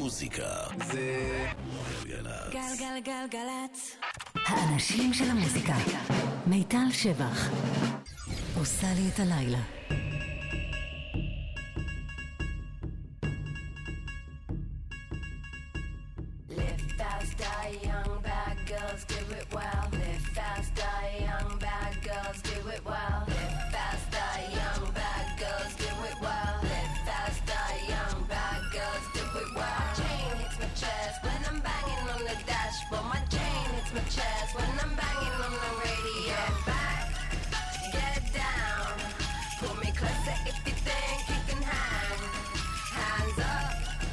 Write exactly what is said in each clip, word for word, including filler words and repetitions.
מוזיקה זה גלגלצ. גלגלגלגלצ. האנשים של המוזיקה. מיטל שבח עושה לי את הלילה. Live fast, die young, bad girls do it well. Live fast, die young, bad girls do it well. Live fast, die young, bad girls do it well. Live fast, die young, bad girls do it well. Chain hits my chest when I'm banging on the dashboard. My chain hits my chest when I'm banging on the radio. Get back, get down, pull me closer if you think you can hang. Hands up,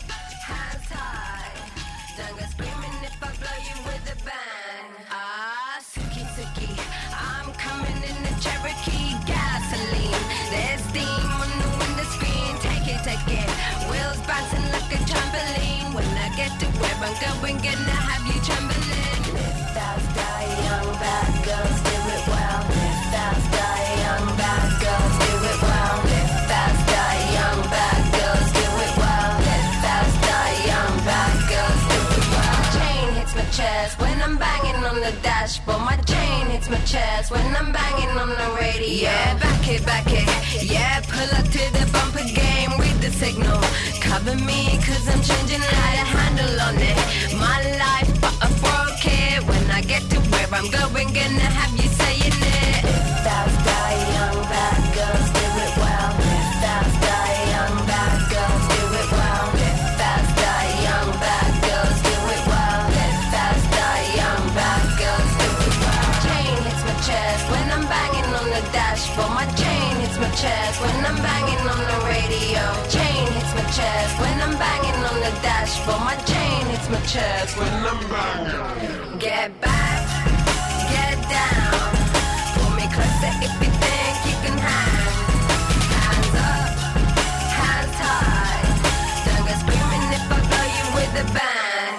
hands high. Don't go screaming if I blow you with a bang. Ah, Suki Suki, I'm coming in the Cherokee gasoline. There's steam on the window screen. Take it, take it. Wheels bouncing like a trampoline. When I get to where I'm going, gonna have you trembling. Live fast, die young, bad girls do it well. Live fast, die young, bad girls do it well. Live fast, die young, bad girls do it well. Live fast, die young, bad girls do it well. Chain hits my chest when I'm banging on the dashboard. My chain hits my chest when I'm banging on the radio. Yeah, back it, back it. Yeah, pull up to the bumper game. Read the signal. Cover me cause I'm changing how to handle on it. My life but I broke it. When I get to where I'm going, gonna have you saying it. Live fast, die young, bad girls do it well. Live fast, die young, bad girls do it well. Live fast, die young, bad girls do it well. Live fast, die young, bad girls do it well. Chain hits my chest when I'm banging on the dashboard. My chain hits my chest when I'm banging on the radio. Chain hits my chest when I'm banging on the dashboard. My chain hits my chest when I'm banging. Get back, get down, pull me closer if you think you can hang. Hands up, hands high. Don't go screaming if I blow you with a bang.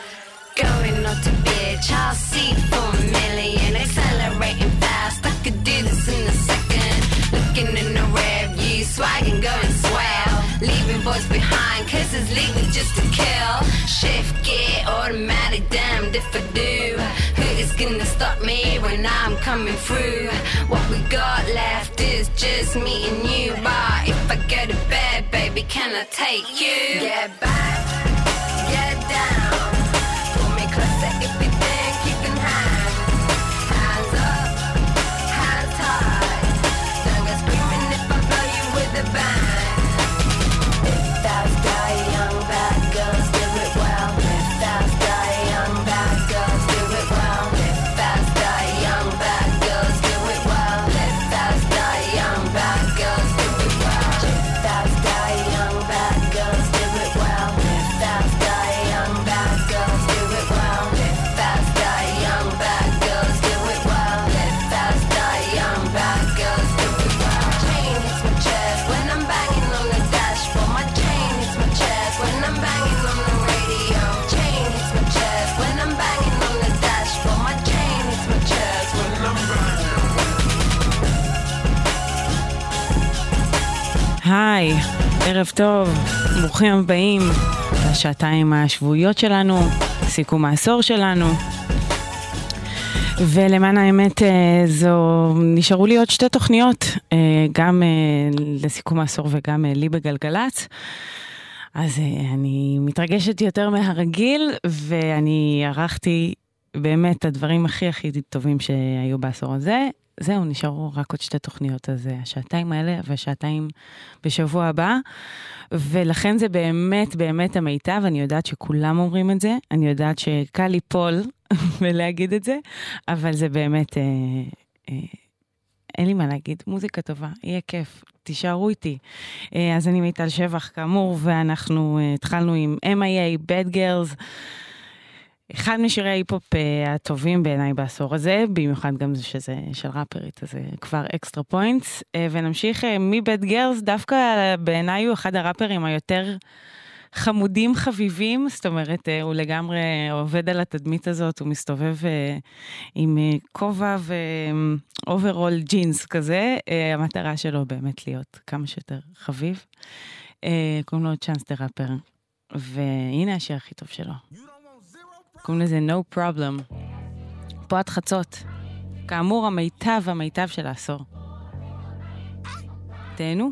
Going on to bitch, I'll see for a million. Accelerating fast, I could do this in a second. Looking in the rear view, swagging, going swell. Leaving boys behind, cause it's legal just to kill. Shift gear, automatic, damned if I do. Who is gonna stop me when I'm coming through? What we got left is just me and you. But if I go to bed, baby, can I take you? Get back, get down, pull me closer if you think you can hang. Hands up, hands high. Don't go screaming if I blow you with a bang. Live fast, die young, bad girls do it well. Live fast, die young, bad girls do it well. Live fast, die young, bad girls do it well. Live fast, die young, bad girls do it well. Live fast, die young, bad girls do it well. Live fast, die young, bad girls do it well. Live fast, die young, bad girls do it well. Live fast, die young, bad girls do it well. Chain hits my chest when I'm banging on the dashboard. My chain hits my chest when I'm banging on the radio. Chain hits my chest when I'm banging on the dashboard. My chain hits my chest when I'm banging. היי, ערב טוב, ברוכים הבאים לשעתיים השבועיות שלנו, סיכום העשור שלנו. ולמען האמת זו, נשארו לי עוד שתי תוכניות, גם לסיכום העשור וגם לי בגלגלצ. אז אני מתרגשת יותר מהרגיל, ואני ערכתי באמת את הדברים הכי הכי טובים שהיו בעשור הזה. זהו, נשארו רק עוד שתי תוכניות, אז השעתיים האלה והשעתיים בשבוע הבא, ולכן זה באמת באמת המיטב. אני יודעת שכולם אומרים את זה, אני יודעת שקל ליפול ולהגיד את זה, אבל זה באמת, אה, אה, אין לי מה להגיד, מוזיקה טובה, יהיה כיף, תישארו איתי. אה, אז אני מיטל שבח כאמור, ואנחנו אה, התחלנו עם אם איי איי, Bad Girls, אחד משירי ההיפופ הטובים בעיניי בעשור הזה, במיוחד גם שזה של ראפרית, אז כבר אקסטרה פוינטס, ונמשיך מבד גרס, דווקא בעיניי הוא אחד הראפרים היותר חמודים חביבים, זאת אומרת, הוא לגמרי עובד על התדמית הזאת, הוא מסתובב עם כובע ואוברול ג'ינס כזה, המטרה שלו באמת להיות כמה שיותר חביב, קוראים לו צ'אנס דה ראפר. והנה השיר הכי טוב שלו. קוראים לזה No Problem. פה עד חצות. כאמור, המיטב המיטב של העשור. תהנו.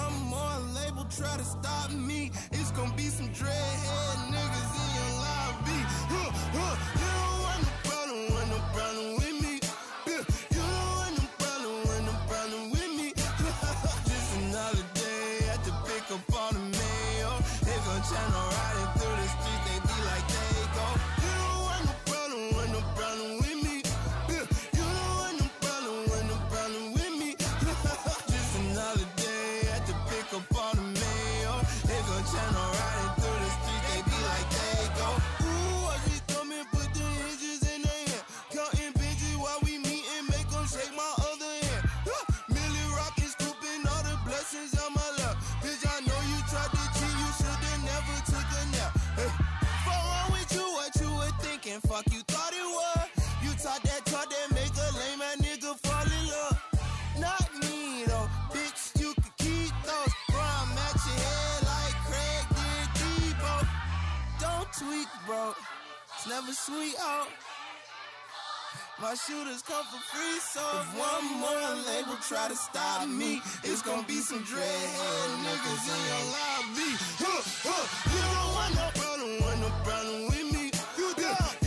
Fuck you thought it was. You taught that talk that make a lame ass nigga fall in love. Not me though, bitch. You could keep those. Bro, I'm at your head like Craig did Debo. Don't tweak, bro. It's never sweet out. My shooters come for free, so if one more label try to stop me, it's gonna be some dreadhead niggas in your lobby. Huh, huh. You don't want no problem, want no problem with me. You do.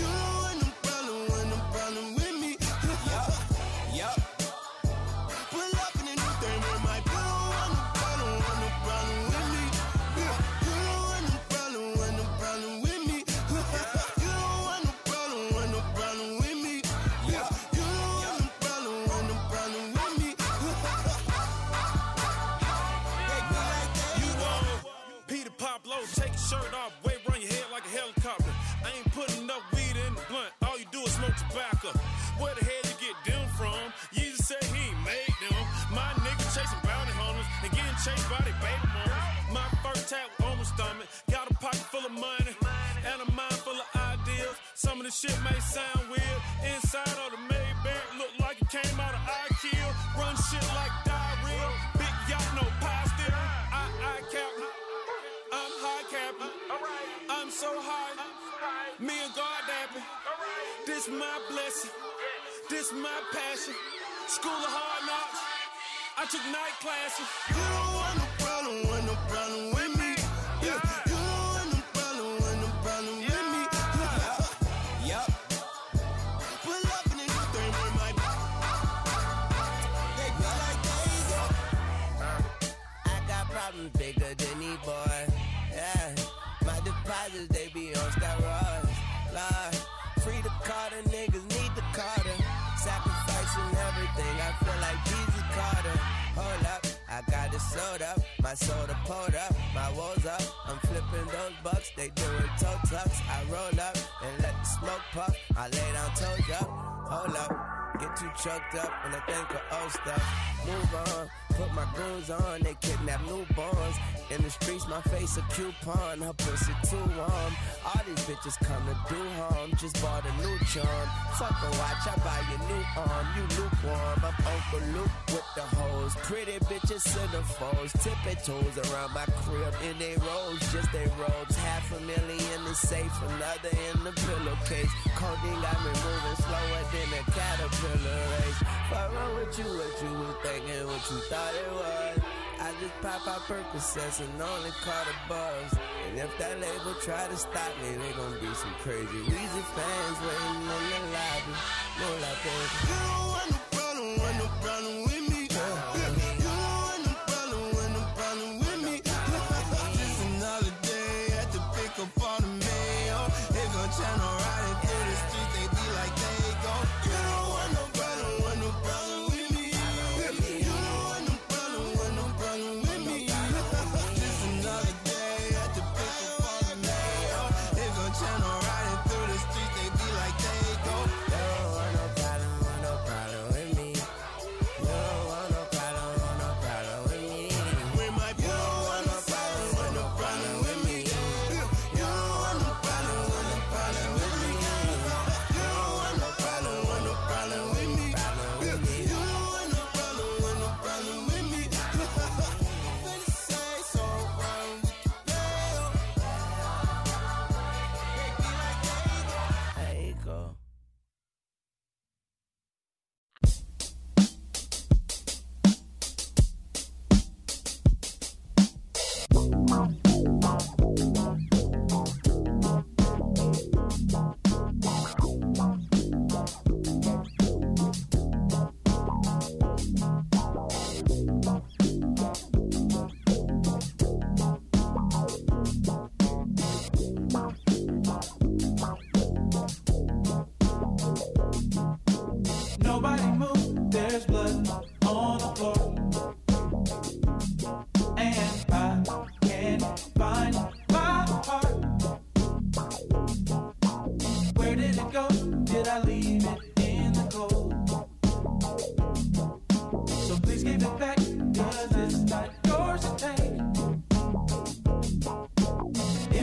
Tobacco. Where the hell you get them from? You just say he ain't made them. My nigga chasing bounty hunters and getting chased by their baby mamas. My first tap on my stomach. Got a pocket full of money and a mind full of ideas. Some of the shit may sound weird. Inside of the Maybach look like it came out of I-Kill. Run shit like diarrhea. Big yacht, no pie still. I, I captain. I'm high captain. I'm so high. Me and God dapping. This my blessing, this my passion. School of hard knocks, I took night classes. You don't want no problem, want no problem with me. Yeah. You don't want no problem, want no problem with me. Yup. Pull up in the new thing with my. They go like they go. Uh, I got problems bigger than these boys. Yeah. My deposits they be on steroids. Lord. Free the Carter, niggas need the Carter. Sacrificing everything, I feel like Jesus Carter. Hold up, I got it sold up. My soda pulled up, my woes up. I'm flipping those bucks, they doing toe tucks. I roll up and let the smoke puff. I lay down toes up, hold up. Get too choked up when I think of old stuff. Move on, put my goons on, they kidnap newborns. In the streets, my face a coupon, her pussy too warm. All these bitches come to do harm, just bought a new charm. Fuck a watch, I buy your new arm, you lukewarm. I'm Uncle Luke with the hoes, pretty bitches centerfolds. Tipping toes around my crib in they robes, just they robes. Half a million is safe, another in the pillowcase. Codeine got me moving slower than a caterpillar race. Fuck wrong with you, what you was thinking, what you thought it was. I just pop out Percocets and only caught a buzz. And if that label try to stop me, they gon' be some crazy Weezy fans waiting in the lobby. No like that. You don't want no problem, want no problem with me. You don't want no problem, want no problem with me. Just another day at the pick up on the mail. They gon' channel riding through the streets, they be like they go. You don't want no problem, want no problem with me. You don't want no problem, want no problem with me. Just another day at the pick up on the mail. They gon' channel riding through the streets, they be like they go. You don't want no problem, want no problem with me.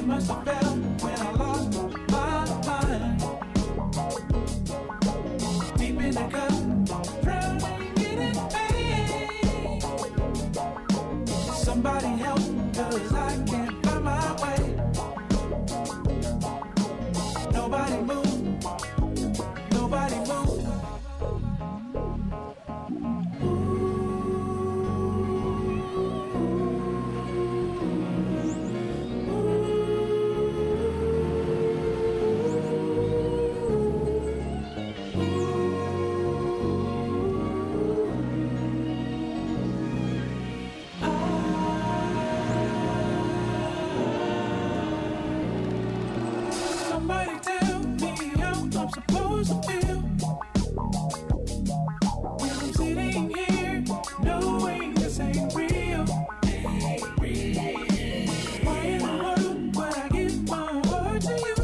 it must have felt when I lost my mind. Deep in the cup, drowning in it, pain. Somebody help, 'cause I can't find my way. Nobody move, nobody move. Somebody tell me how I'm supposed to feel when I'm sitting here knowing this ain't real. Why in the world would I give my heart to you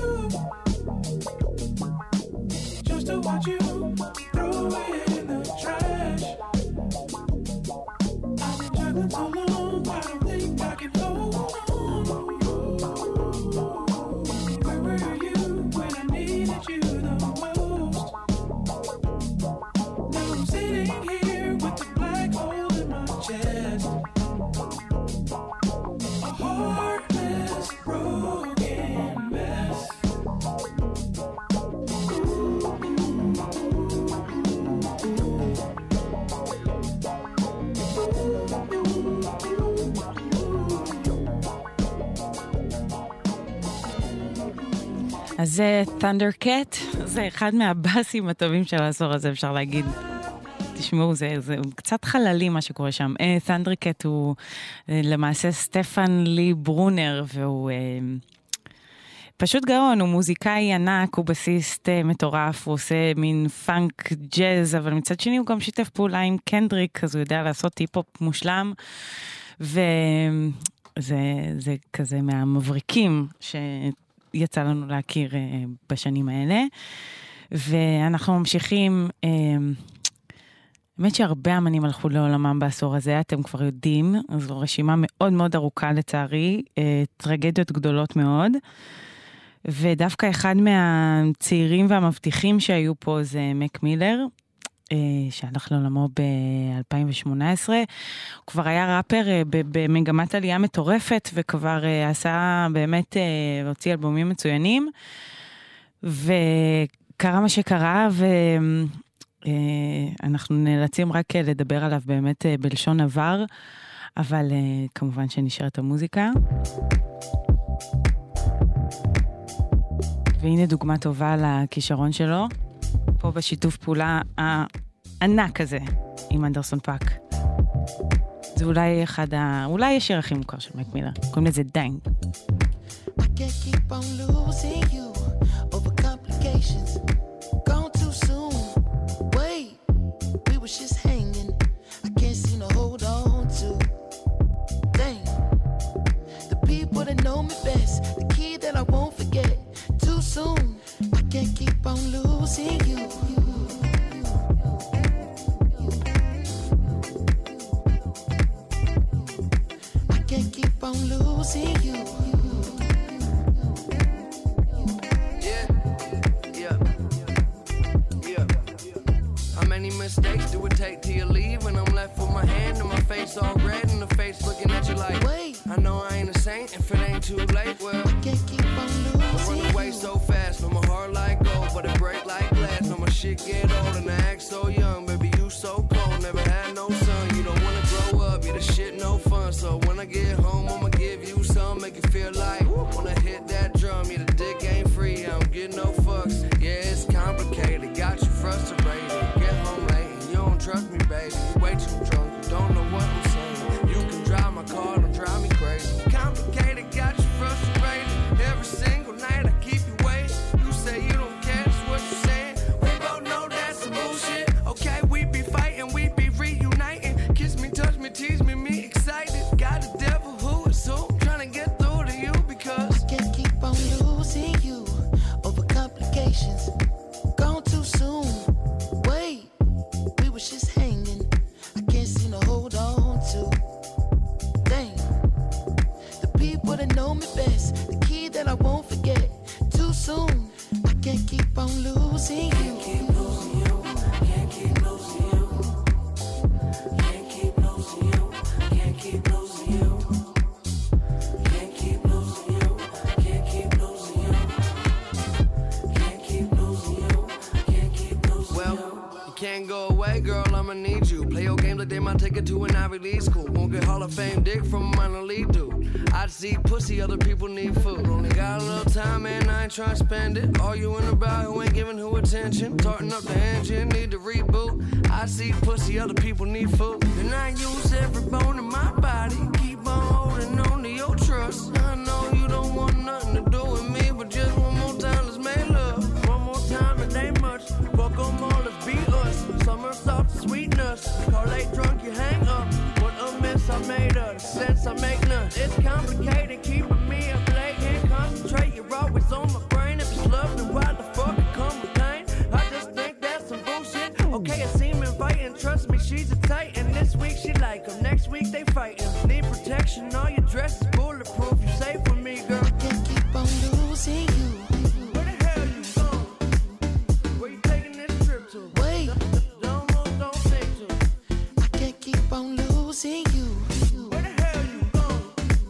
just to watch you throw it in the trash? I've been juggling so long, I don't think I can hold on. Where were you when I needed you the most? Now I'm sitting here with the black hole in my chest. A heartless, broken mess. אז זה Thundercat, זה אחד מהבאסים הטובים של העשור הזה, אפשר להגיד. תשמעו, זה, זה קצת חללי מה שקורה שם. Thundercat הוא למעשה סטפן לי ברונר, והוא פשוט גאון, הוא מוזיקאי ענק, הוא בסיסט מטורף, הוא עושה מין פאנק ג'אז, אבל מצד שני הוא גם שיתף פעולה עם קנדריק, אז הוא יודע לעשות טיפ-הופ מושלם, וזה זה כזה מהמבריקים שיצא לנו להכיר בשנים האלה, ואנחנו ממשיכים, באמת שהרבה אמנים הלכו לעולמם בעשור הזה, אתם כבר יודעים, זו רשימה מאוד מאוד ארוכה לצערי, טרגדיות גדולות מאוד, ודווקא אחד מהצעירים והמבטיחים שהיו פה זה מק מילר, שהלך לעולמו ב-אלפיים ושמונה עשרה, הוא כבר היה ראפר במגמת עלייה מטורפת, וכבר עשה באמת, הוציא אלבומים מצוינים, וקרה מה שקרה, ואנחנו נאלצים רק לדבר עליו באמת בלשון עבר, אבל כמובן שנשארת המוזיקה. והנה דוגמה טובה לכישרון שלו, פה בשיתוף פעולה הענק הזה עם אנדרסון פאק. זה אולי אחד ה... אולי השיר הכי מוכר של מק מילר. קוראים לזה דיינג. I can't keep on losing you over complications. Gone too soon. Wait, we was just hanging. I can't seem to hold on to. Dang. The people that know me best. The key that I won't forget. Too soon. I can't keep on losing you. I can't keep on losing you. Yeah, yeah. losing you. Keep losing you. Can't keep losing you. Can't keep losing you. Can't keep losing you. Can't keep losing you. Can't keep losing you. Can't keep losing you. Can't keep losing you. Well, you can't go away, girl, I'ma need you. Play your games like they might take it to an Ivy League school. Won't get Hall of Fame dick from a minor league dude. I see pussy, other people need food. Only got a little time and I ain't trying to spend it. Arguing about who ain't giving who attention. Tarting up the engine, need to reboot. I see pussy, other people need food. And I use every bone in my body. Keep on holding on to your trust. I know you don't want nothing to do with me, but just one more time, let's make love. One more time, it ain't much. Fuck them all, let's be us. Summer soft sweetness. Call late drunk, you hang up. What a mess I made of. Sense I make none. It's complicated, keeping me up late. Can't concentrate, you're always on my brain. If it's love, then why the fuck it come with pain? I just think that's some bullshit. Okay, it seem inviting. Trust me, she's a titan. This week she like him, next week they fighting. Need protection, all your dress is bulletproof. You safe with me, girl. I can't keep on losing you. Where the hell you going? Where you taking this trip to? Wait, Don't move, don't think to. I can't keep on losing you. Where the hell you going?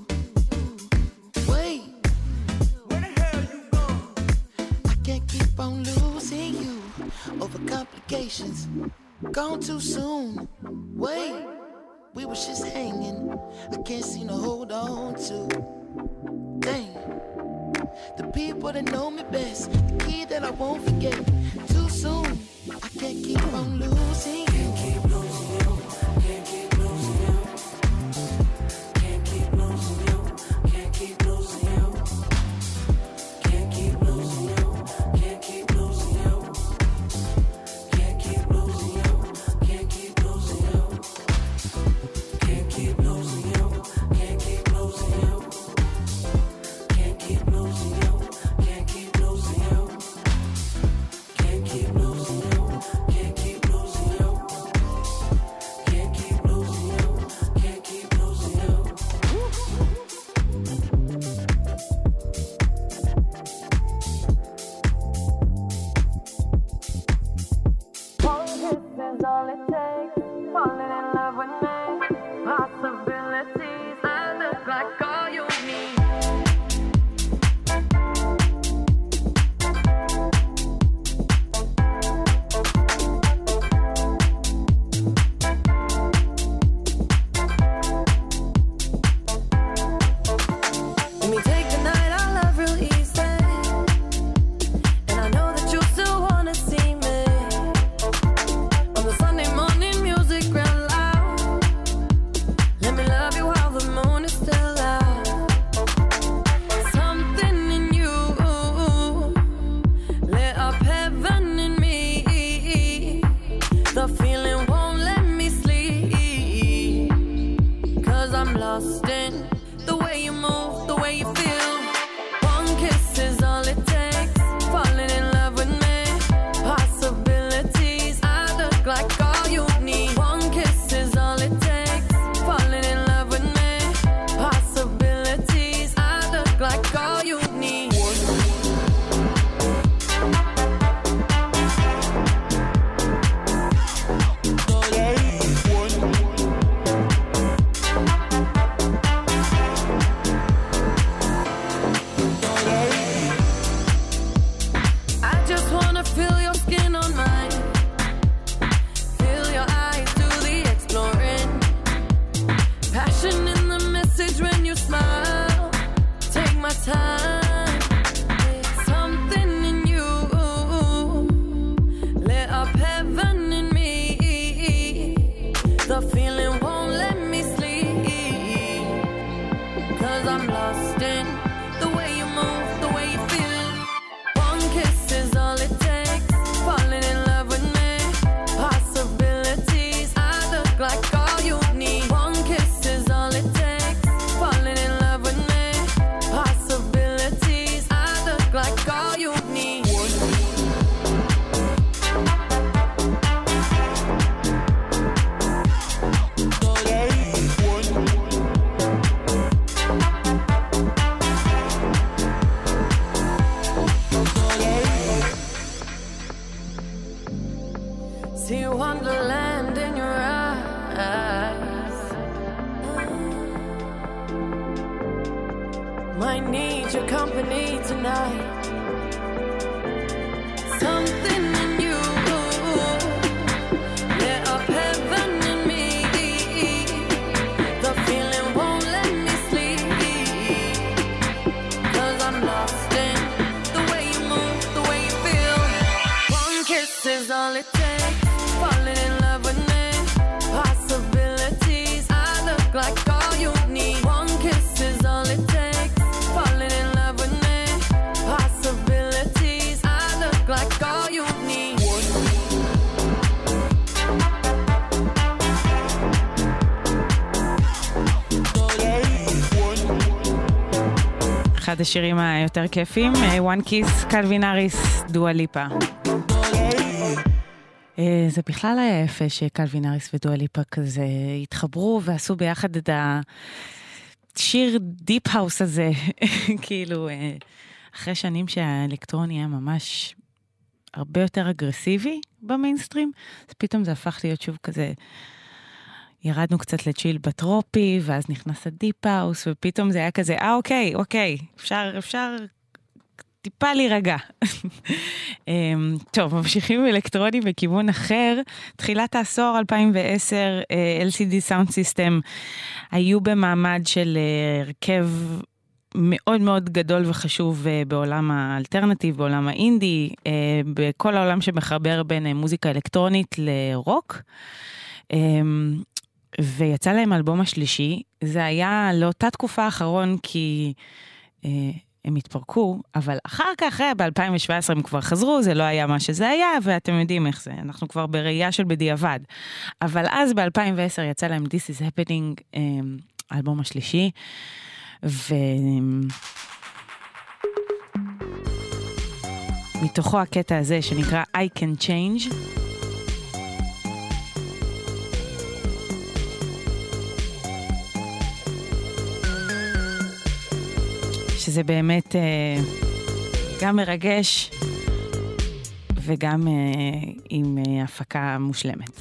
Wait, Where the hell you going? I can't keep on losing you over complications. Gone too soon. Wait, we was just hanging. I can't seem to hold on to. Dang, the people that know me best, the key that I won't forget. Too soon. I can't keep on losing you. Can't keep losing you. Can't keep losing you. Can't keep losing you. Can't keep losing you. Can't keep losing you. Can't keep losing you. Can't keep losing you. Can't keep losing you. Can't keep losing you. Can't keep losing you. Can't keep losing you. Can't keep losing you. Can't keep losing you. Can't keep losing you. Can't keep losing you. Can't keep losing you. One kiss is all it takes. Falling in love with me. Possibilities. I look like all you need. Let me take the night, I love real easy. And I know that you still wanna see me. On the Sunday morning, music real loud. Let me love you while the moon is still out. Something in you lit up heaven in me. The feeling won't let me sleep. Cause I'm lost in the way you move, the way you feel. One kiss is all it takes. Falling in love with me. Possibilities. I look like all you need. One kiss is all it takes. Falling in love with me. Possibilities. I look like all you need. I just wanna feel your skin on mine. Feel your eyes do the exploring. Passion in the message when you smile. Take my time. need your company tonight. Something in you lit up heaven in me. The feeling won't let me sleep, 'cause I'm lost in the way you move, the way you feel. One kiss is all it takes, falling in love with me. Possibilities, I look like all you need. One kiss is all it takes, falling in love with me. Possibilities, I look like all you need. אחד השירים היותר כיפים, One Kiss, קלווין האריס, דואה ליפה. זה בכלל היה יפה שקלווין האריס ודואה ליפה כזה התחברו ועשו ביחד את השיר דיפ האוס הזה, כאילו אחרי שנים שהאלקטרוני היה ממש הרבה יותר אגרסיבי במיינסטרים, אז פתאום זה הפך להיות שוב כזה, ירדנו קצת לצ'יל בטרופי, ואז נכנס הדיפ האוס, ופתאום זה היה כזה, אה אוקיי, אוקיי, אפשר, אפשר טיפה להירגע. טוב, ממשיכים אלקטרוני בכיוון אחר. תחילת העשור, אלפיים ועשר, אל סי די Sound System היו במעמד של הרכב מאוד מאוד גדול וחשוב בעולם האלטרנטיב, בעולם האינדי, בכל העולם שמחבר בין מוזיקה אלקטרונית לרוק. ויצא להם אלבום השלישי. זה היה לאותה תקופה האחרון כי הם התפרקו, אבל אחר כך, ב-אלפיים שבע עשרה הם כבר חזרו, זה לא היה מה שזה היה, ואתם יודעים איך זה, אנחנו כבר בראייה של בדיעבד. אבל אז ב-אלפיים ועשר יצא להם This is Happening, האלבום השלישי, ומתוכו הקטע הזה שנקרא I Can Change, שזה באמת אה, גם מרגש וגם אה, עם אה, הפקה מושלמת.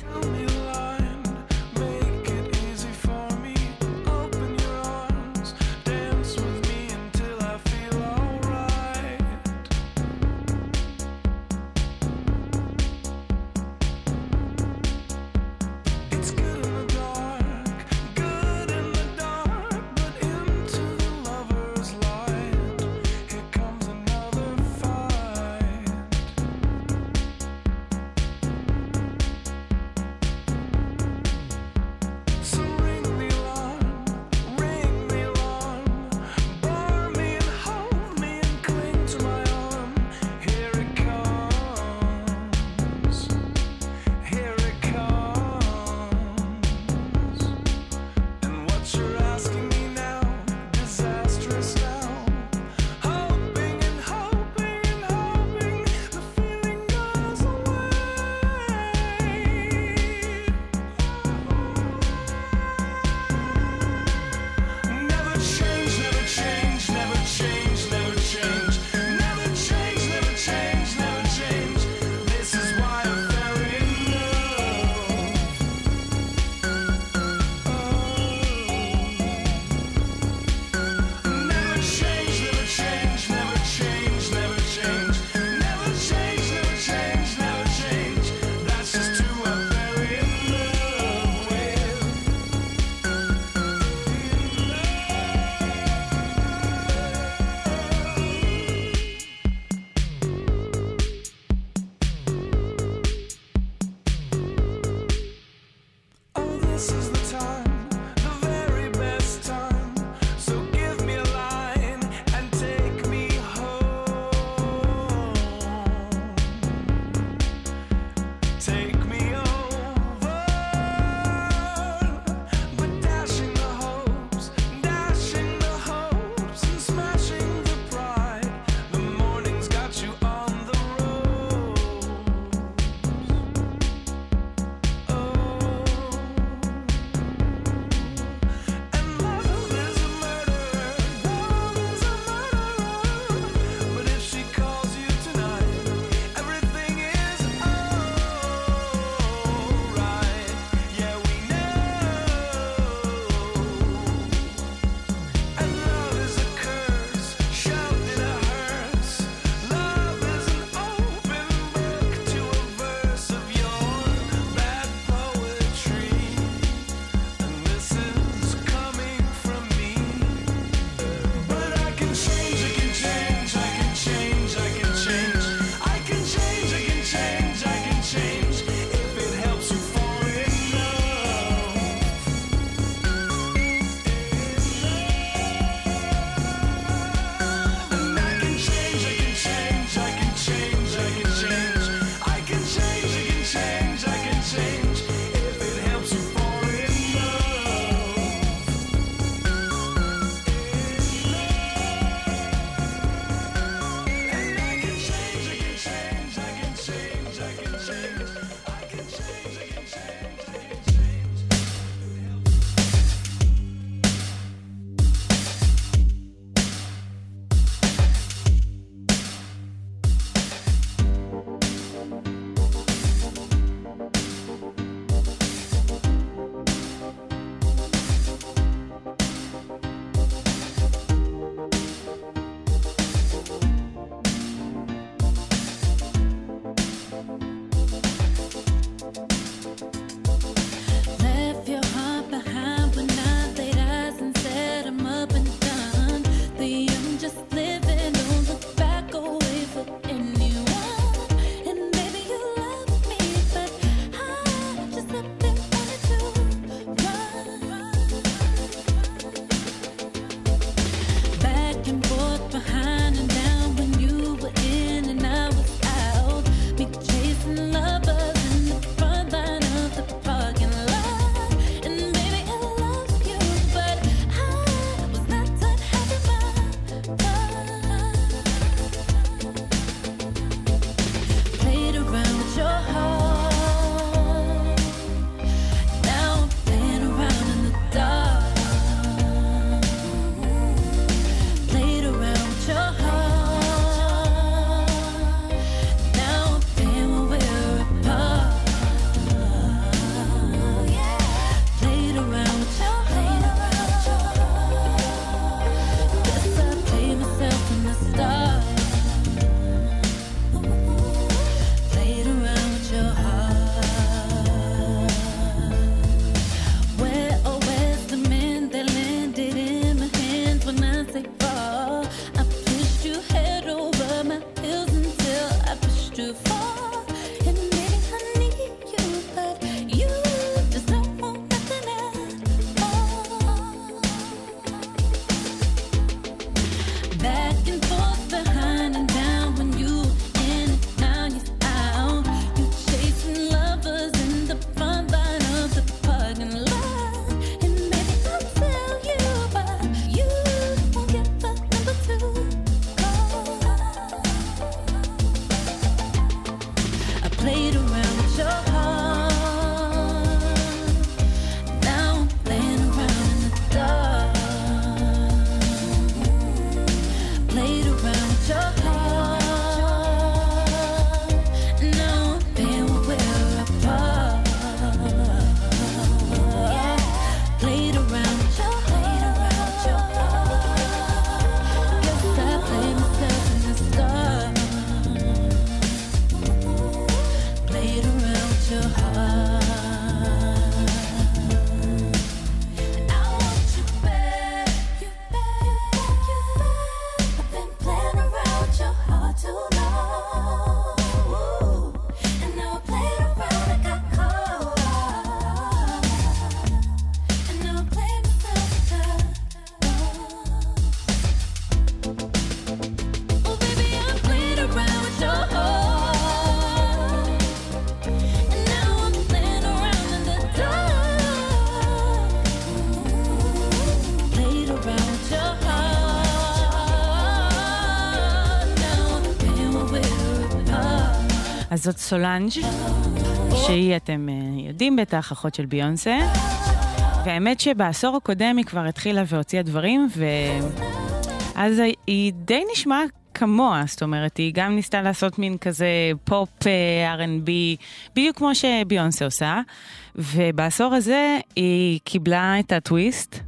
אז זאת סולנג' שהיא, אתם יודעים בטח, אחות של ביונסה. והאמת שבעשור הקודם היא כבר התחילה והוציאה דברים, ואז היא די נשמעה כמוה, זאת אומרת, היא גם ניסתה לעשות מין כזה פופ, אר אנד בי, בדיוק כמו שביונסה עושה, ובעשור הזה היא קיבלה את הטוויסט,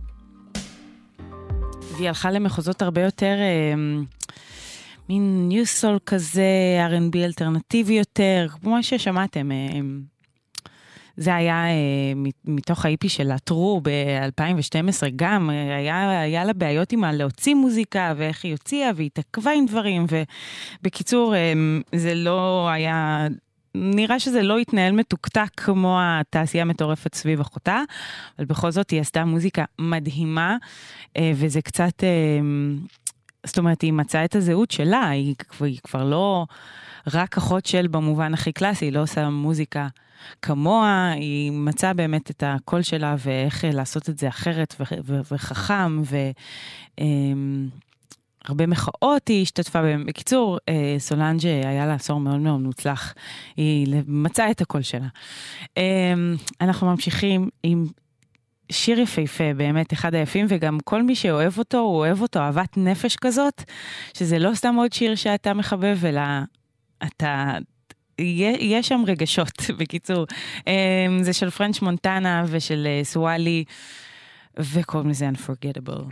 והיא הלכה למחוזות הרבה יותר, מין ניו סול כזה, אר אנד בי אלטרנטיבי יותר, כמו ששמעתם, זה היה מתוך האיפי של הטרו ב-אלפיים ושתים עשרה, גם היה, היה לה בעיות עם להוציא מוזיקה, ואיך היא הוציאה, והיא תקווה עם דברים, ובקיצור, זה לא היה, נראה שזה לא התנהל מתוקתק כמו התעשייה המטורפת סביב אחותה, אבל בכל זאת היא עשתה מוזיקה מדהימה, וזה קצת, זאת אומרת, היא מצאה את הזהות שלה, היא, היא כבר לא רק אחות של במובן הכי קלאסי, היא לא עושה מוזיקה כמוה, היא מצאה באמת את הקול שלה, ואיך לעשות את זה אחרת ו- ו- וחכם, והרבה מחאות היא השתתפה. בקיצור, סולנג' היה לה עשור מאוד מאוד מוצלח, היא מצאה את הקול שלה. אנחנו ממשיכים עם שיר יפהפה, באמת אחד היפים, וגם כל מי שאוהב אותו, הוא אוהב אותו אהבת נפש כזאת, שזה לא סתם עוד שיר שאתה מחבב, אלא אתה יש שם רגשות, בקיצור. זה של פרנץ' מונטנה ושל סואלי, וקוראים לזה Unforgettable.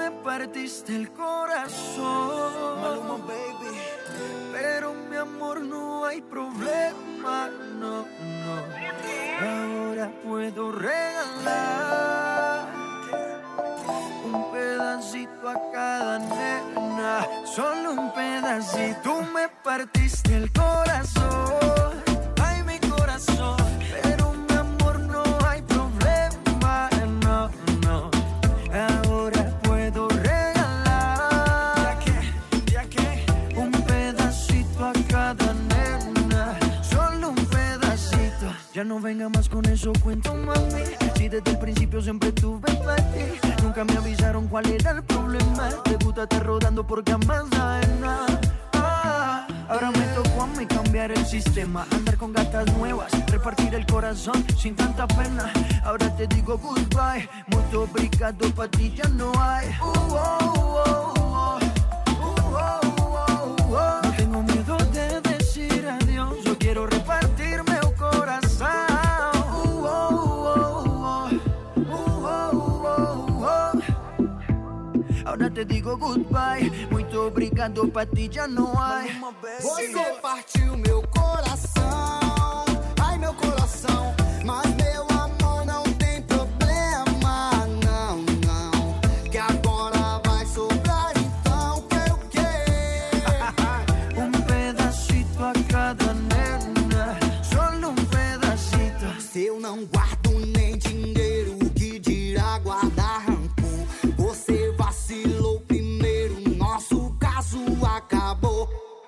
partiste el corazón. Maluma, baby. Pero mi amor, no hay problema, no, no. Ahora puedo regalar un pedacito a cada nena, solo un pedacito. Tú me partiste el corazón, ay mi corazón. Pero mi amor, no hay problema, no, no. Ahora puedo regalar ya que, ya que un pedacito a cada nena, solo un pedacito. Ya no venga más con eso, cuento mami. Si desde el principio siempre tuve para ti, nunca me avisaron cuál era el problema. Te gusta estar rodando por camas ajenas. Ah, ahora me tocó a mí cambiar el sistema, andar con gatas nuevas, repartir el corazón sin tanta pena. Ahora te digo goodbye, mucho obrigado, pa' ti ya no hay. Uh, oh, oh, oh. Uh, oh, oh, oh. No tengo miedo de decir adiós, yo quiero repartirme el corazón. Uh, oh, oh, oh. Uh, oh, oh, oh. Ahora te digo goodbye, muito obrigado, pa' ti já não há. Você partiu meu coração, ai meu coração, mas meu amor não tem problema, não, não, que agora vai sobrar então que o quê? Um pedacito a cada nena, solo um pedacito. Se eu não guardo nem dinheiro, que dirá guardar rancor? Você vacilou primeiro, nosso caso acabou.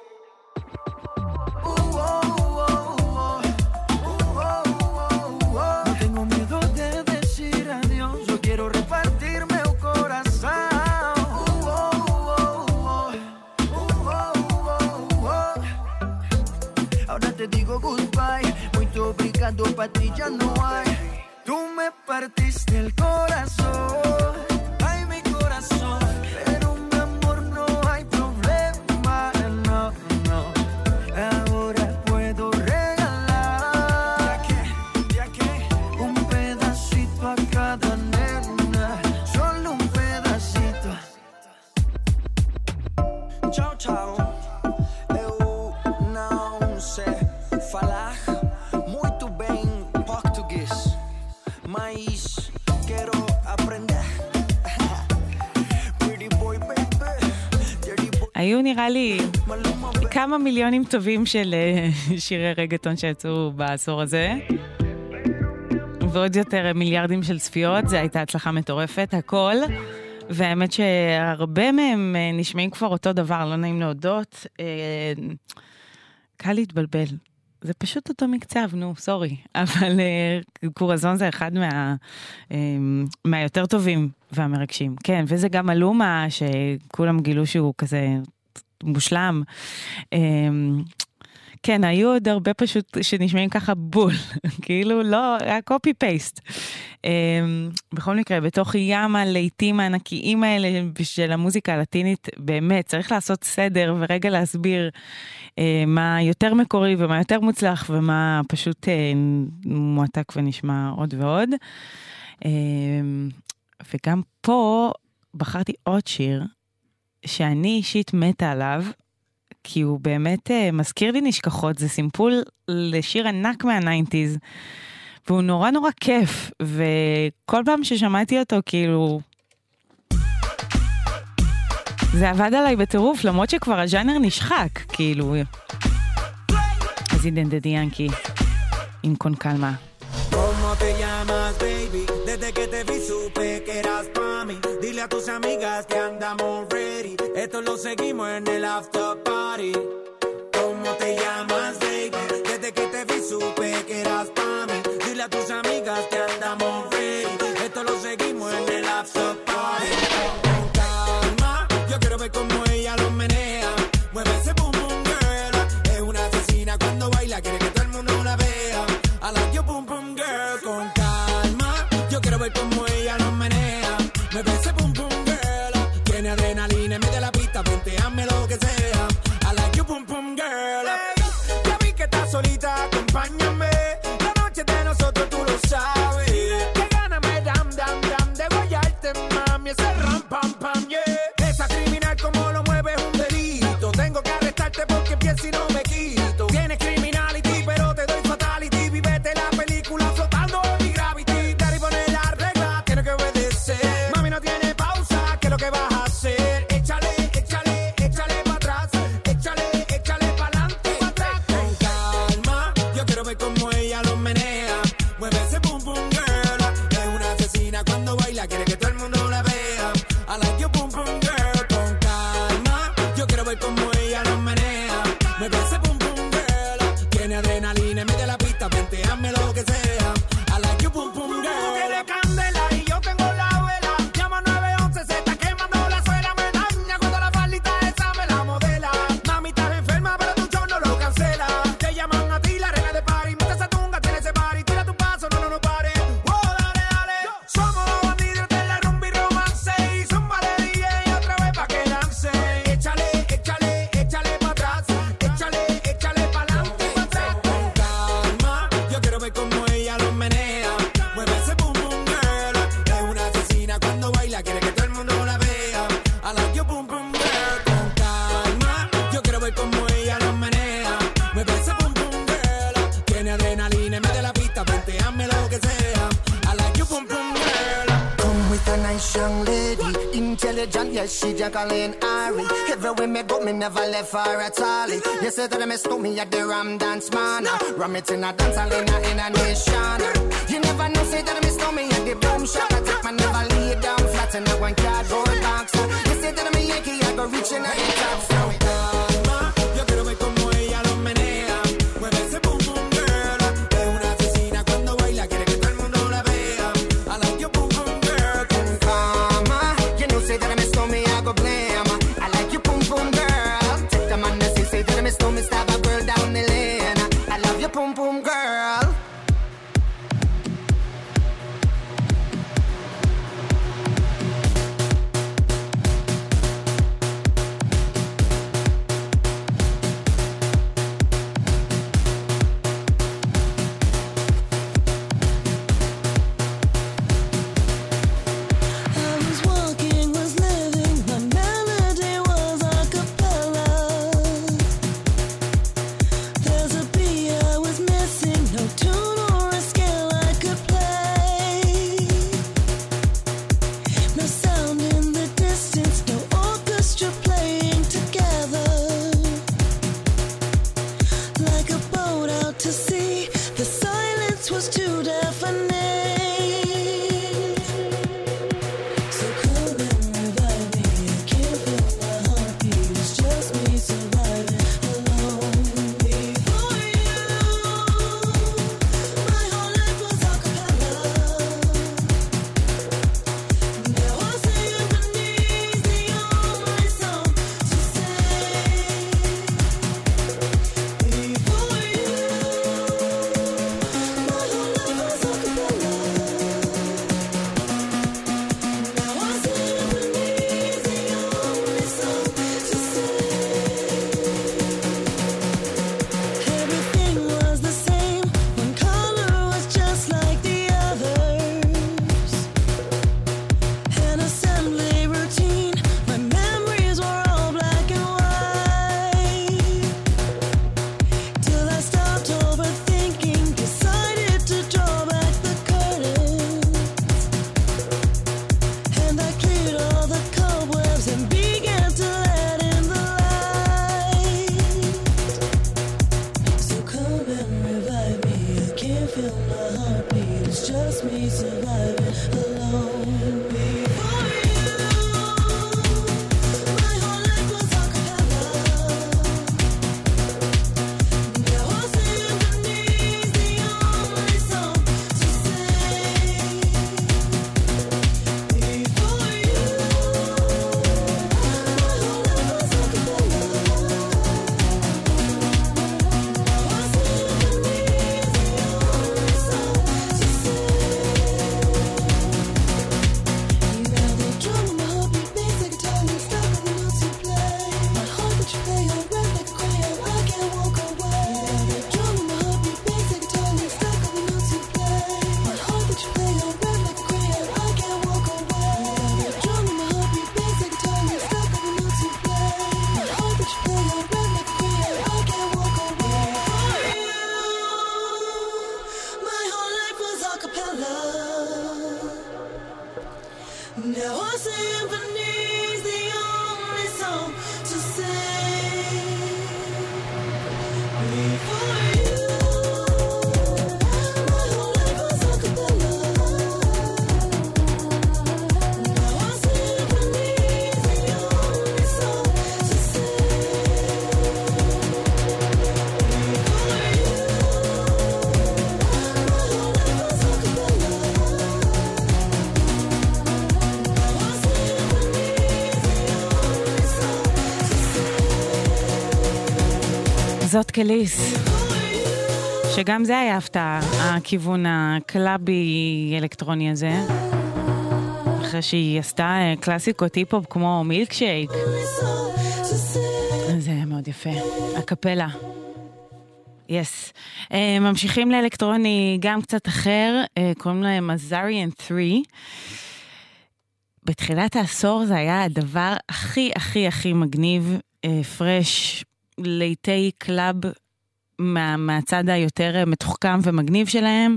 No tengo miedo de decir adiós, yo quiero repartirme el corazón. Ahora te digo goodbye, muito obrigado, pa' ti ya no hay. Tú me partiste el corazón, ay mi corazón. Pero mi amor, no hay problema, no, no. Ahora puedo regalar ya que, ya que un pedacito a cada nena, solo un pedacito. Tchau, tchau. Eu não sei falar muito bem português, mas quero aprender. Pretty boy, baby, dirty boy. היו נראה לי כמה מיליונים טובים של אה, שירי רגטון שיצאו בעשור הזה. ועוד יותר מיליארדים של צפיות, זו הייתה הצלחה מטורפת, הכל. והאמת שהרבה מהם אה, נשמעים כבר אותו דבר, לא נעים להודות. אה, קל להתבלבל. זה פשוט אותו מקצב, נו, סורי. אבל אה, קורזון זה אחד מה, אה, מהיותר טובים והמרגשים. כן, וזה גם אלומה שכולם גילו שהוא כזה מושלם. אה, כן, היו עוד הרבה פשוט שנשמעים ככה בול. כאילו, לא, היה קופי פייסט. בכל מקרה, בתוך ים הלעיתים הענקיים האלה של המוזיקה הלטינית, באמת, צריך לעשות סדר ורגע להסביר מה יותר מקורי ומה יותר מוצלח, ומה פשוט מועתק ונשמע עוד ועוד. וגם פה בחרתי עוד שיר, שאני אישית מתה עליו, כי הוא באמת מזכיר לי נשכחות, זה סימפול לשיר ענק מהניינטיז, והוא נורא נורא כיף, וכל פעם ששמעתי אותו, כאילו, זה עבד עליי בטירוף, למרות שכבר הז'אנר נשחק, כאילו. אז הנה דדי ינקי, עם קון קלמה. ¿Cómo te llamas, baby? Desde que te vi supe que eras pa' mí. Dile a tus amigas que andamos ready. Esto lo seguimos en el after party. ¿Cómo te llamas, baby? Desde que te vi supe que eras pa' mí. Dile a tus amigas que andamos ready. Esto lo seguimos en el after party. Con calma, yo quiero ver cómo ella lo menea. Mueve ese boom boom girl. Es una asesina cuando baila, quiere que todo el mundo la vea. I like your boom boom girl. Con calma, yo quiero ver cómo ella lo menea. Mueve ese boom boom girl. Tiene adrenalina en medio de la pista, ponteame lo que sea. I like your boom boom girl. Hey, ya vi que estás solita, acompáñame. La noche de nosotros tú lo sabes. Que gana me dam dam dam de guayarte, mami. Ese ram pam pam, yeah. ver como ella lo menea. Me parece pum pum girl. Tiene adrenalina, mete la pista, vente, hazme lo que sea. I like you pum pum girl. Tú tienes candela y yo tengo la vela. Llama nueve once, se está quemando la suela. Me daña cuando la faldita esa me la modela. Mami, estás enferma, pero tu show no lo cancela. Te llaman a ti, la reina de party. Mucha esa tunga, tiene ese party. Tira tu paso, no, no, no pare. Oh, dale, dale. Somos los bandidos de la rumba y romance. Y zumba de D J otra vez pa' que dance. Échale, échale, échale pa' atrás. Échale, échale pa' adelante y pa' atrás. Con calma, yo quiero ver como ella lo menea. Mueve ese pum pum girl. Es una asesina cuando baila, quiere que todo el mundo la vea. I like you pum pum girl. Con calma, yo quiero ver como ella lo menea. Mueve ese pum pum girl. Tiene adrenalina, mete la pista, vente, hazme lo que sea. I like you pum pum girl. Come with a nice young lady, intelligent, yes, she Jacqueline Ari. Everywhere me go, me never left her at all. You say that me stole me at the Ram Dance Man. Ram it in a dance hall in a, in a nation. You never know, say that me stole me at the Boom Shop. I take my never lay down flat in a one cardboard box. You say that me Yankee, I go reaching at the top. So Calma, yo quiero ver como ella lo menea. Mueve ese pum pum girl. Es una asesina cuando baila, quiere que todo el mundo la vea. I like you pum pum girl. Con Mama, you know, say that me stole me, I go blame. I like you, pum pum girl. Take the man that say, say that me stole me, stab a girl down the lane. I love you, pum pum girl. זאת קליס, שגם זה היה הפתעה, הכיוון הקלאבי אלקטרוני הזה, אחרי שהיא עשתה קלאסיקות היפ-הופ כמו מילקשייק. זה היה מאוד יפה, הקפלה. יס. Yes. Uh, ממשיכים לאלקטרוני גם קצת אחר, uh, קוראים להם Azarian שלוש. בתחילת העשור זה היה הדבר הכי הכי הכי מגניב, uh, פרש, ליטי קלאב מה, מהצד היותר מתוחכם ומגניב שלהם.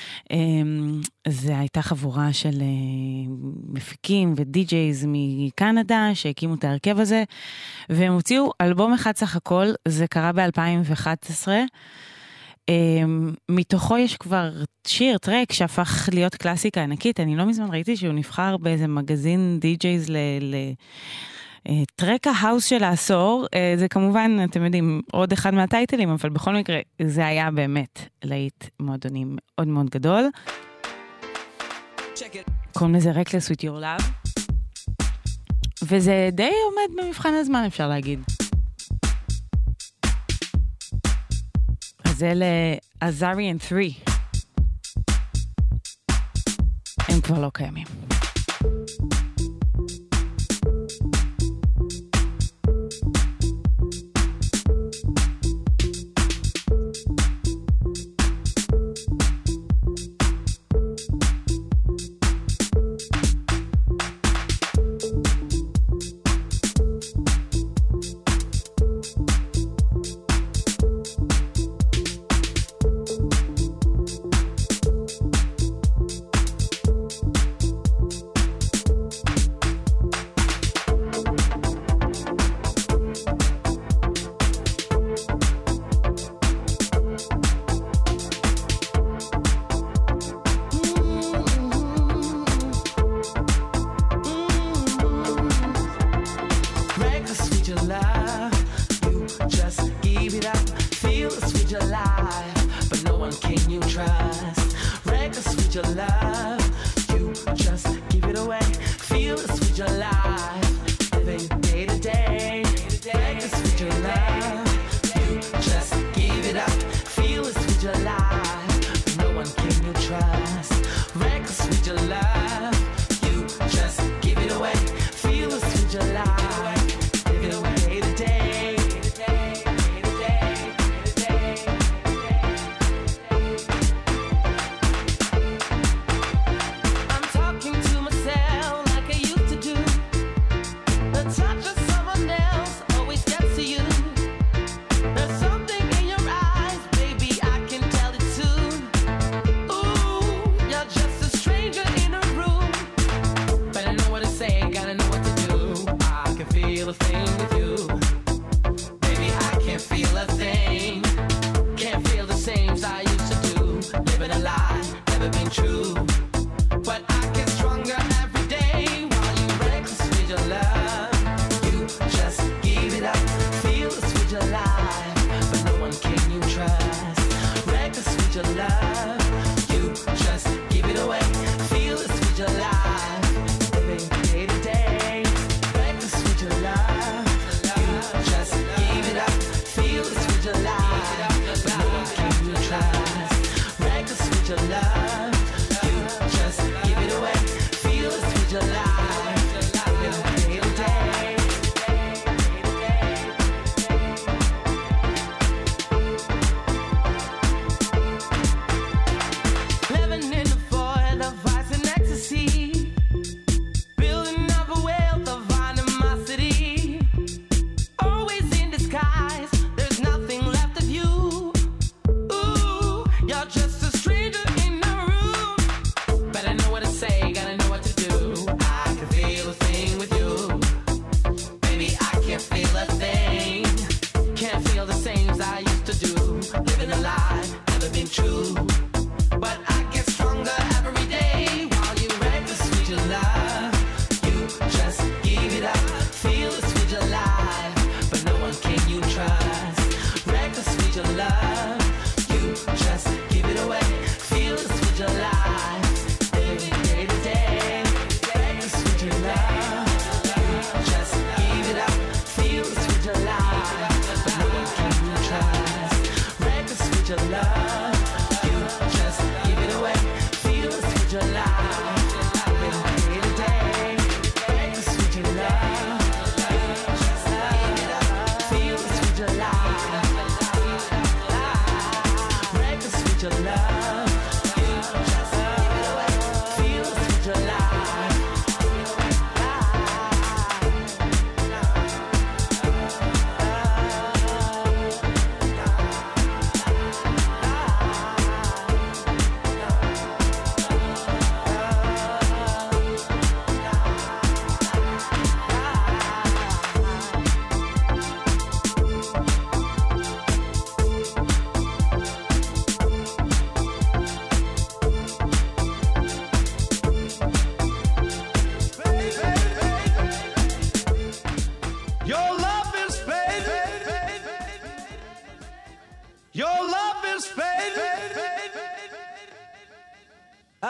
זה הייתה חבורה של מפיקים ודי-ג'ייז מקנדה שהקימו את ההרכב הזה, והם הוציאו אלבום אחד סך הכל, זה קרה ב-אלפיים ואחת עשרה. מתוכו יש כבר שיר, טרק, שהפך להיות קלאסיקה ענקית. אני לא מזמן ראיתי שהוא נבחר באיזה מגזין די-ג'ייז ל... ל טרק ההאוס של העשור, זה כמובן, אתם יודעים, עוד אחד מהטייטלים, אבל בכל מקרה, זה היה באמת להיט מועדוני מאוד מאוד גדול. קוראים לזה Reckless with your love. וזה די עומד במבחן הזמן, אפשר להגיד. אז אלה Azarian שלוש. הם כבר לא קיימים.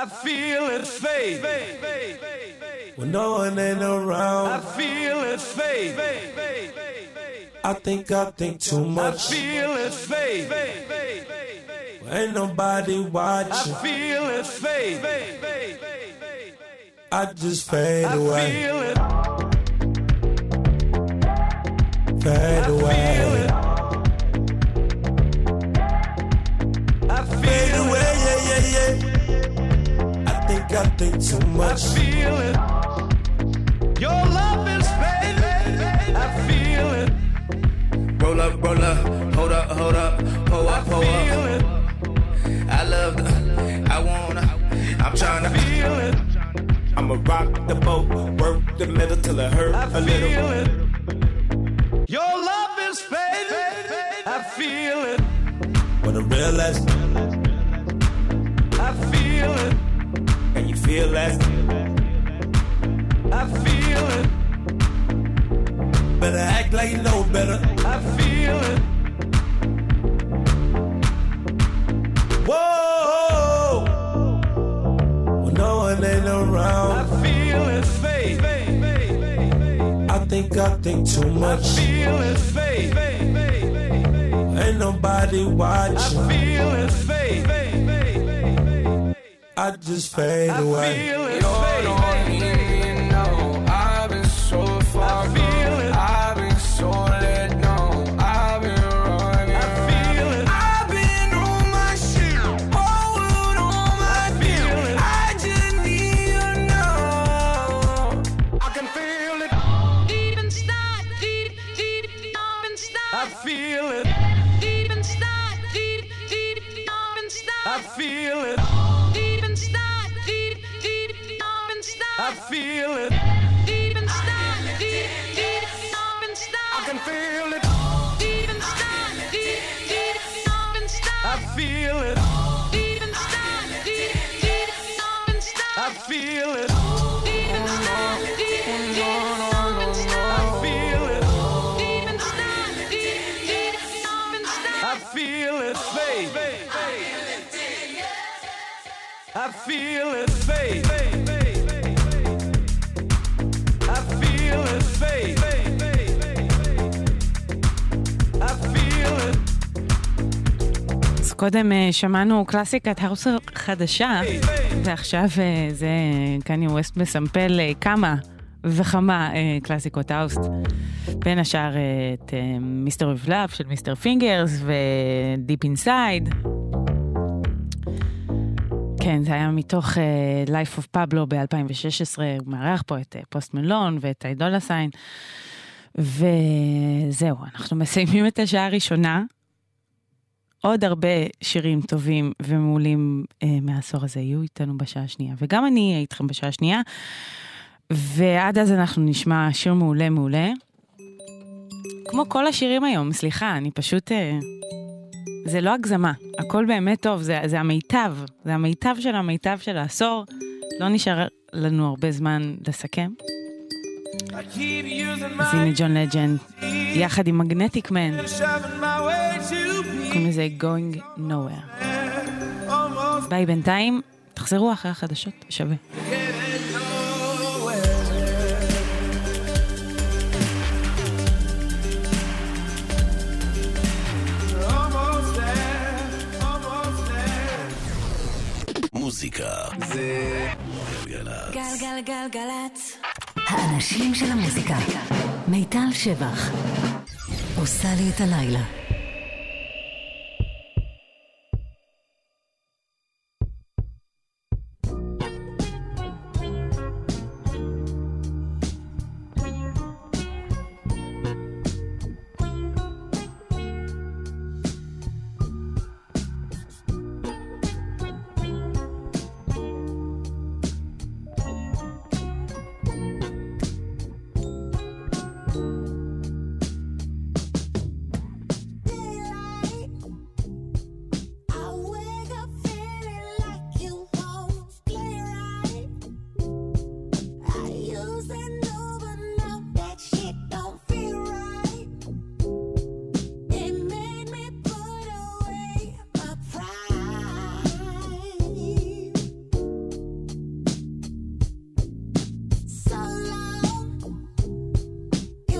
I feel it fade. When no one ain't around, I feel it fade. I think I think too much. I feel it fade. Ain't nobody I watching. feel it fade. I just fade I away, feel it. fade away, I fade feel it. away. Yeah, yeah, yeah. I think I think too I much. feel it. Your love is fade. I feel it. Roll up, roll up, hold up, hold up, pull I up, pull feel up. it. I love the, I wanna, I'm tryna Feel it. I'ma rock the boat, work the middle till it hurt I a little. feel it. Your love is fade. I feel it. When I realize, I feel it. and you feel that, I feel it. better act like you know better. I feel it. Whoa, when no one ain't I around, feel it fade. I think I think too I much. feel it fade. Ain't nobody I watching. feel it fade. I just fade I away. feel it You're fade. the one you know. I've been so far I feel gone. it. I've been so let down. I've been running. I feel it. I've been on my shit. Whole world on my feel feet. it. I just need to know. I can feel it. Deep inside, deep, deep, deep inside. I feel it. Deep inside, deep, deep, deep inside. I feel it. Deep inside, deep, deep, deep inside. I feel it. Deep inside, deep, deep, deep inside. I can feel it. Deep inside, deep, deep, deep inside. I feel it. Deep inside, deep, deep, deep inside. I feel it. Deep inside, deep, deep, deep inside. I feel it. Deep inside, deep, deep, deep inside. I feel it fade. I feel it fade. I feel it fade. I feel it. אז קודם אה, שמענו קלאסיקת האוס חדשה, ועכשיו אה, זה קניה ווסט מסמפל אה, כמה וכמה אה, קלאסיקות האוס. בין השאר אה, את מיסטר אוף לאב של מיסטר פינגרס ודיפ אינסייד. כן, זה היה מתוך uh, Life of Pablo ב-אלפיים ושש עשרה, הוא מארח פה את uh, פוסט מלון ואת אידולה סיין, וזהו, אנחנו מסיימים את השעה הראשונה, עוד הרבה שירים טובים ומעולים uh, מהעשור הזה יהיו איתנו בשעה השנייה, וגם אני אהיה איתכם בשעה השנייה, ועד אז אנחנו נשמע שיר מעולה מעולה, כמו כל השירים היום, סליחה, אני פשוט... Uh, זה לא הגזמה, הכל באמת טוב, זה, זה המיטב, זה המיטב של המיטב של העשור, לא נשאר לנו הרבה זמן לסכם. אז הנה ג'ון לג'נד, יחד עם מגנטיק מן, קוראים לזה Going Nowhere. ביי בינתיים, תחזרו אחרי החדשות, שווה. מוזיקה זה גלגלצ. גלגלגלגלצ. האנשים של המוזיקה. מיטל שבח. עושה לי את הלילה.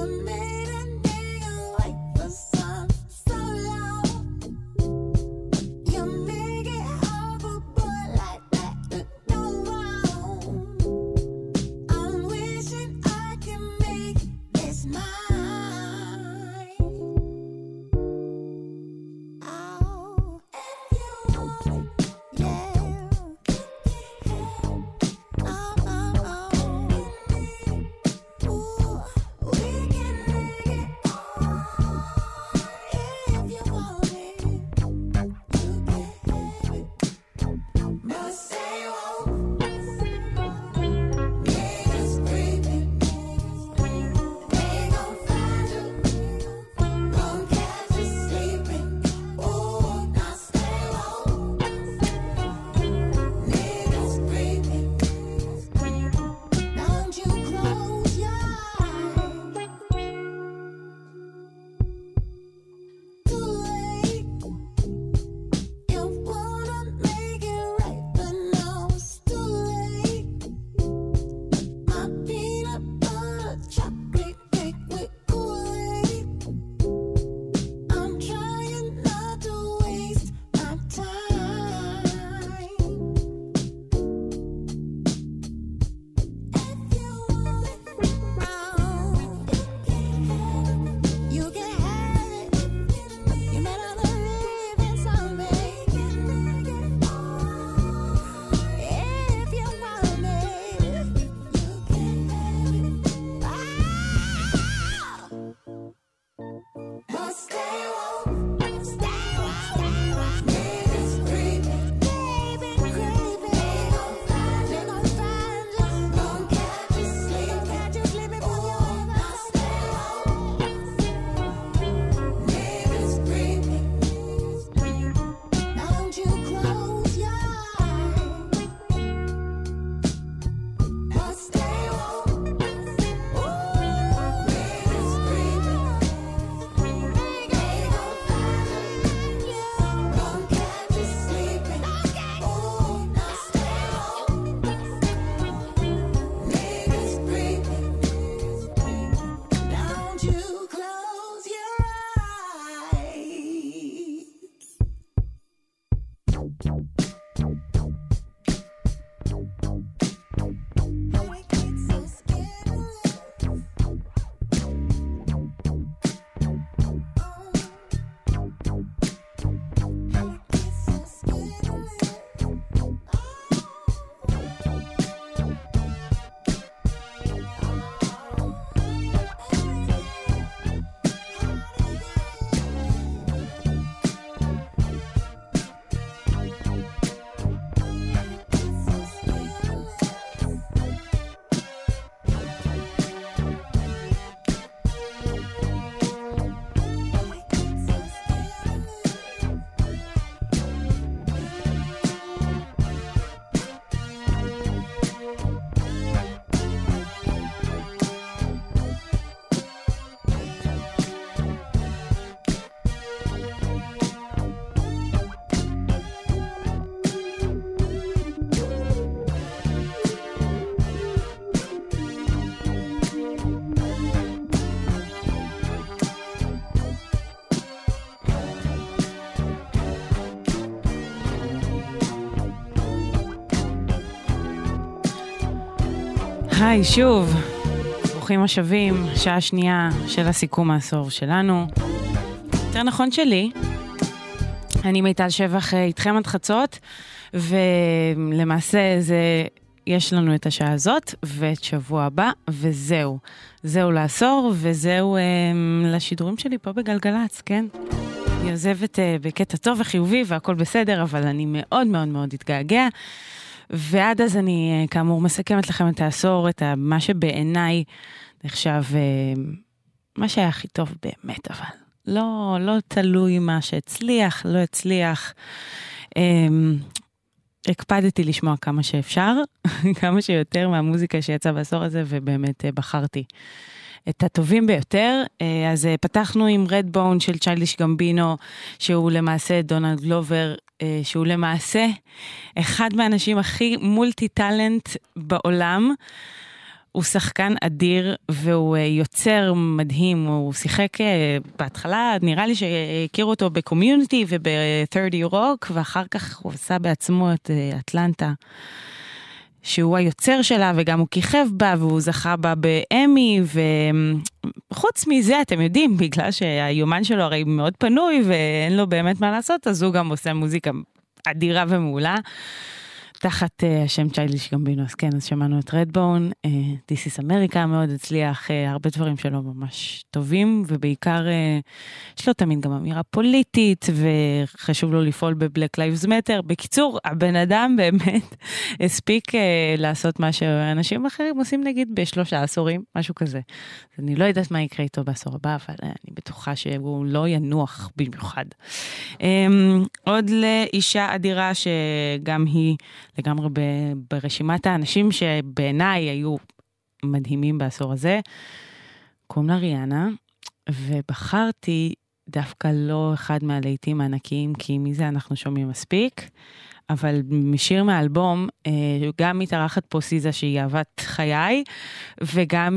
היי, שוב, ברוכים השבים, שעה שנייה של הסיכום העשור שלנו. יותר נכון שלי, אני מיטל שבח איתכם עד חצות, ולמעשה זה, יש לנו את השעה הזאת, ואת שבוע הבא, וזהו. זהו לעשור, וזהו אה, לשידורים שלי פה בגלגלץ, כן? אני עוזבת אה, בקטע טוב וחיובי, והכל בסדר, אבל אני מאוד מאוד מאוד התגעגע. ועד אז אני כאמור מסכמת לכם את העשור, את מה שבעיניי נחשב מה שהיה הכי טוב באמת, אבל לא, לא תלוי מה שהצליח, לא הצליח. הקפדתי לשמוע כמה שאפשר, כמה שיותר מהמוזיקה שיצאה בעשור הזה, ובאמת בחרתי את הטובים ביותר. אז פתחנו עם רדבון של צ'יילדיש גמבינו, שהוא למעשה דונלד גלובר, שהוא למעשה אחד מהאנשים הכי מולטי טלנט בעולם. הוא שחקן אדיר, והוא יוצר מדהים, הוא שיחק בהתחלה, נראה לי שהכיר אותו בקומיוניטי וב-שלושים רוק, ואחר כך הוא עשה בעצמו את אטלנטה, שהוא היוצר שלה, וגם הוא כיכב בה, והוא זכה בה באמי, וחוץ מזה, אתם יודעים, בגלל שהיומן שלו הרי מאוד פנוי, ואין לו באמת מה לעשות, אז הוא גם עושה מוזיקה אדירה ומעולה, תחת uh, השם צ'יילדיש גמבינו, אז כן, אז שמענו את רדבון, uh, This is America מאוד הצליח, uh, הרבה דברים שלו ממש טובים, ובעיקר uh, יש לו תמיד גם אמירה פוליטית, וחשוב לו לפעול ב-Black Lives Matter. בקיצור, הבן אדם באמת הספיק uh, לעשות מה שאנשים אחרים עושים נגיד בשלושה עשורים, משהו כזה. אז אני לא יודעת מה יקרה איתו בעשור הבא, אבל uh, אני בטוחה שהוא לא ינוח במיוחד. Um, עוד לאישה אדירה שגם היא לגמרי ברשימת האנשים שבעיניי היו מדהימים בעשור הזה, קוראים לה ריאנה, ובחרתי דווקא לא אחד מהלהיטים הענקיים, כי מזה אנחנו שומעים מספיק, אבל משיר מהאלבום, גם מתארחת פה סיזה שהיא אהבת חיי, וגם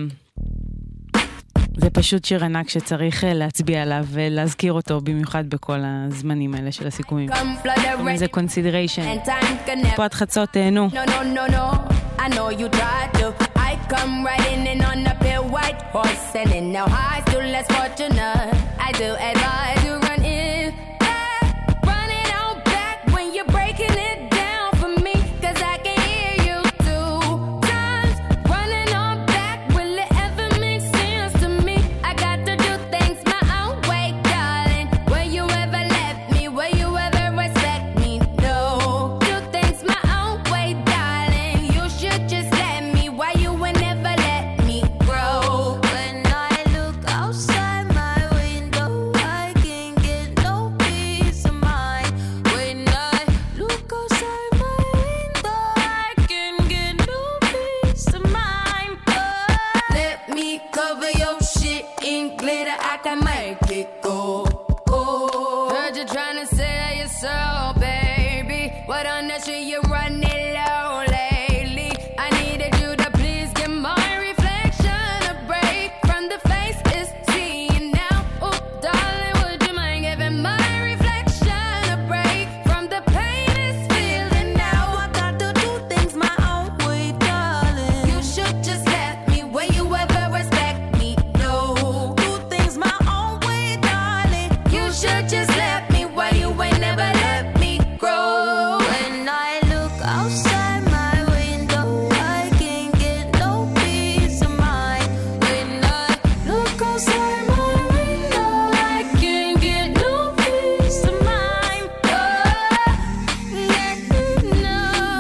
זה פשוט שיר ענק שצריך להצביע עליו ולהזכיר אותו במיוחד בכל הזמנים האלה של הסיכומים. זה consideration. פה עד חצות תהנו. No, no, no, no. I know you tried to. I come riding in on a pale white horse, selling now high, still less fortunate. I do advise you run in. Run it on back when you're breaking it down for me, cause I can hear you two times. Running on back, will it ever make sense to me? I got to do things my own way, darling. Will you ever let me? Will you ever respect me? No. Do things my own way, darling. You should just let me. Why you would never let me grow? When I look outside my window, I can't get no peace of mind. When I look outside my window, I can't get no peace of mind. But let me cover your shit in glitter, I can make it go. Oh, heard you trying to sell yourself, baby. What on that shit you running low lately? I needed you to please give my reflection a break from the face it's seeing now. Oh, darling, would you mind giving my reflection a break from the pain it's feeling now? I got to do things my own way, darling. You should just let me. Will you ever respect me? No. Do things my own way, darling. You should just let me. Why you ain't never let me grow? When I look outside my window, I can't get no peace of mind. When I look outside my window, I can't get no peace of mind. Oh, yeah, no.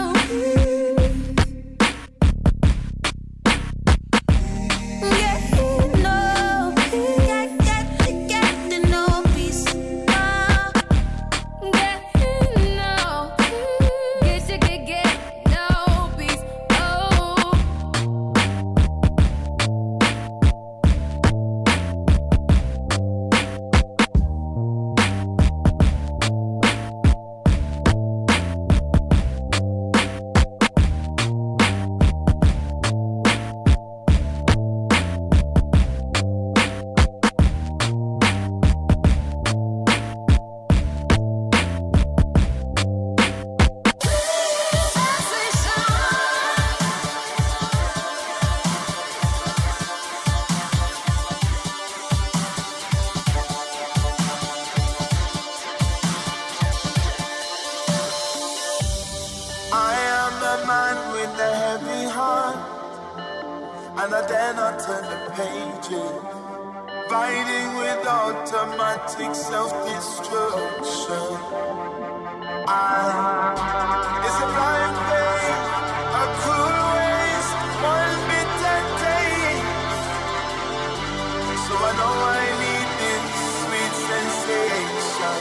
Yeah, no. I got to get to no peace. Oh, yeah, no. Guess you could get no peace. Oh. I am a man with a heavy heart, and I dare not turn the pages, fighting with automatic self-destruction. I is a blind faith, a cruel waste, one bitter taste. So I know I need this sweet sensation.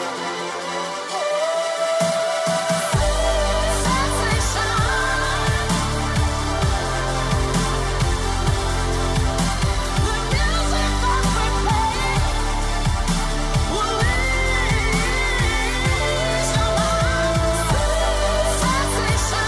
Sensation.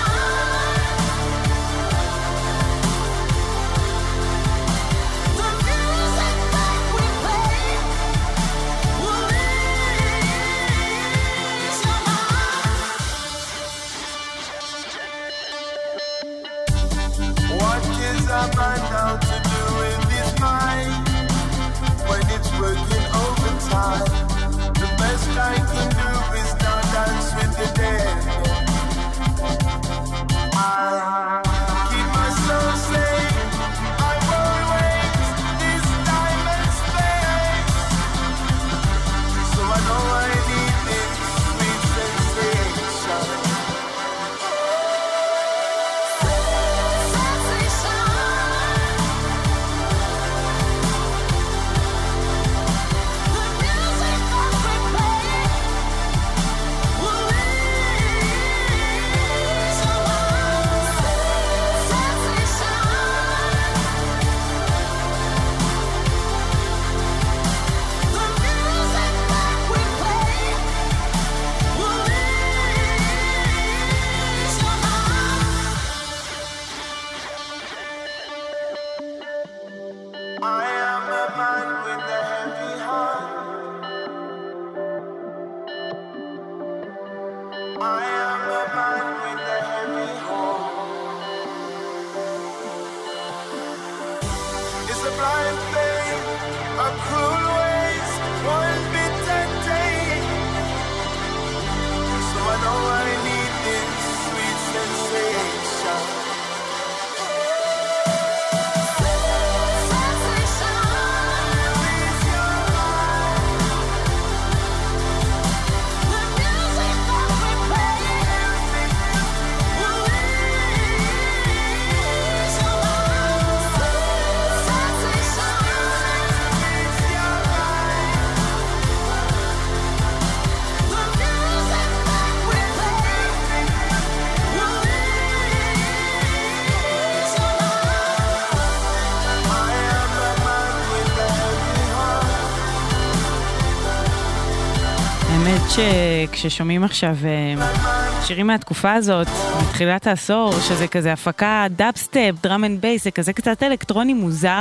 האמת שכששומעים עכשיו שירים מהתקופה הזאת, מתחילת העשור, שזה כזה הפקה דאפסטפ, דראם אנד בייס, זה כזה קצת אלקטרוני מוזר,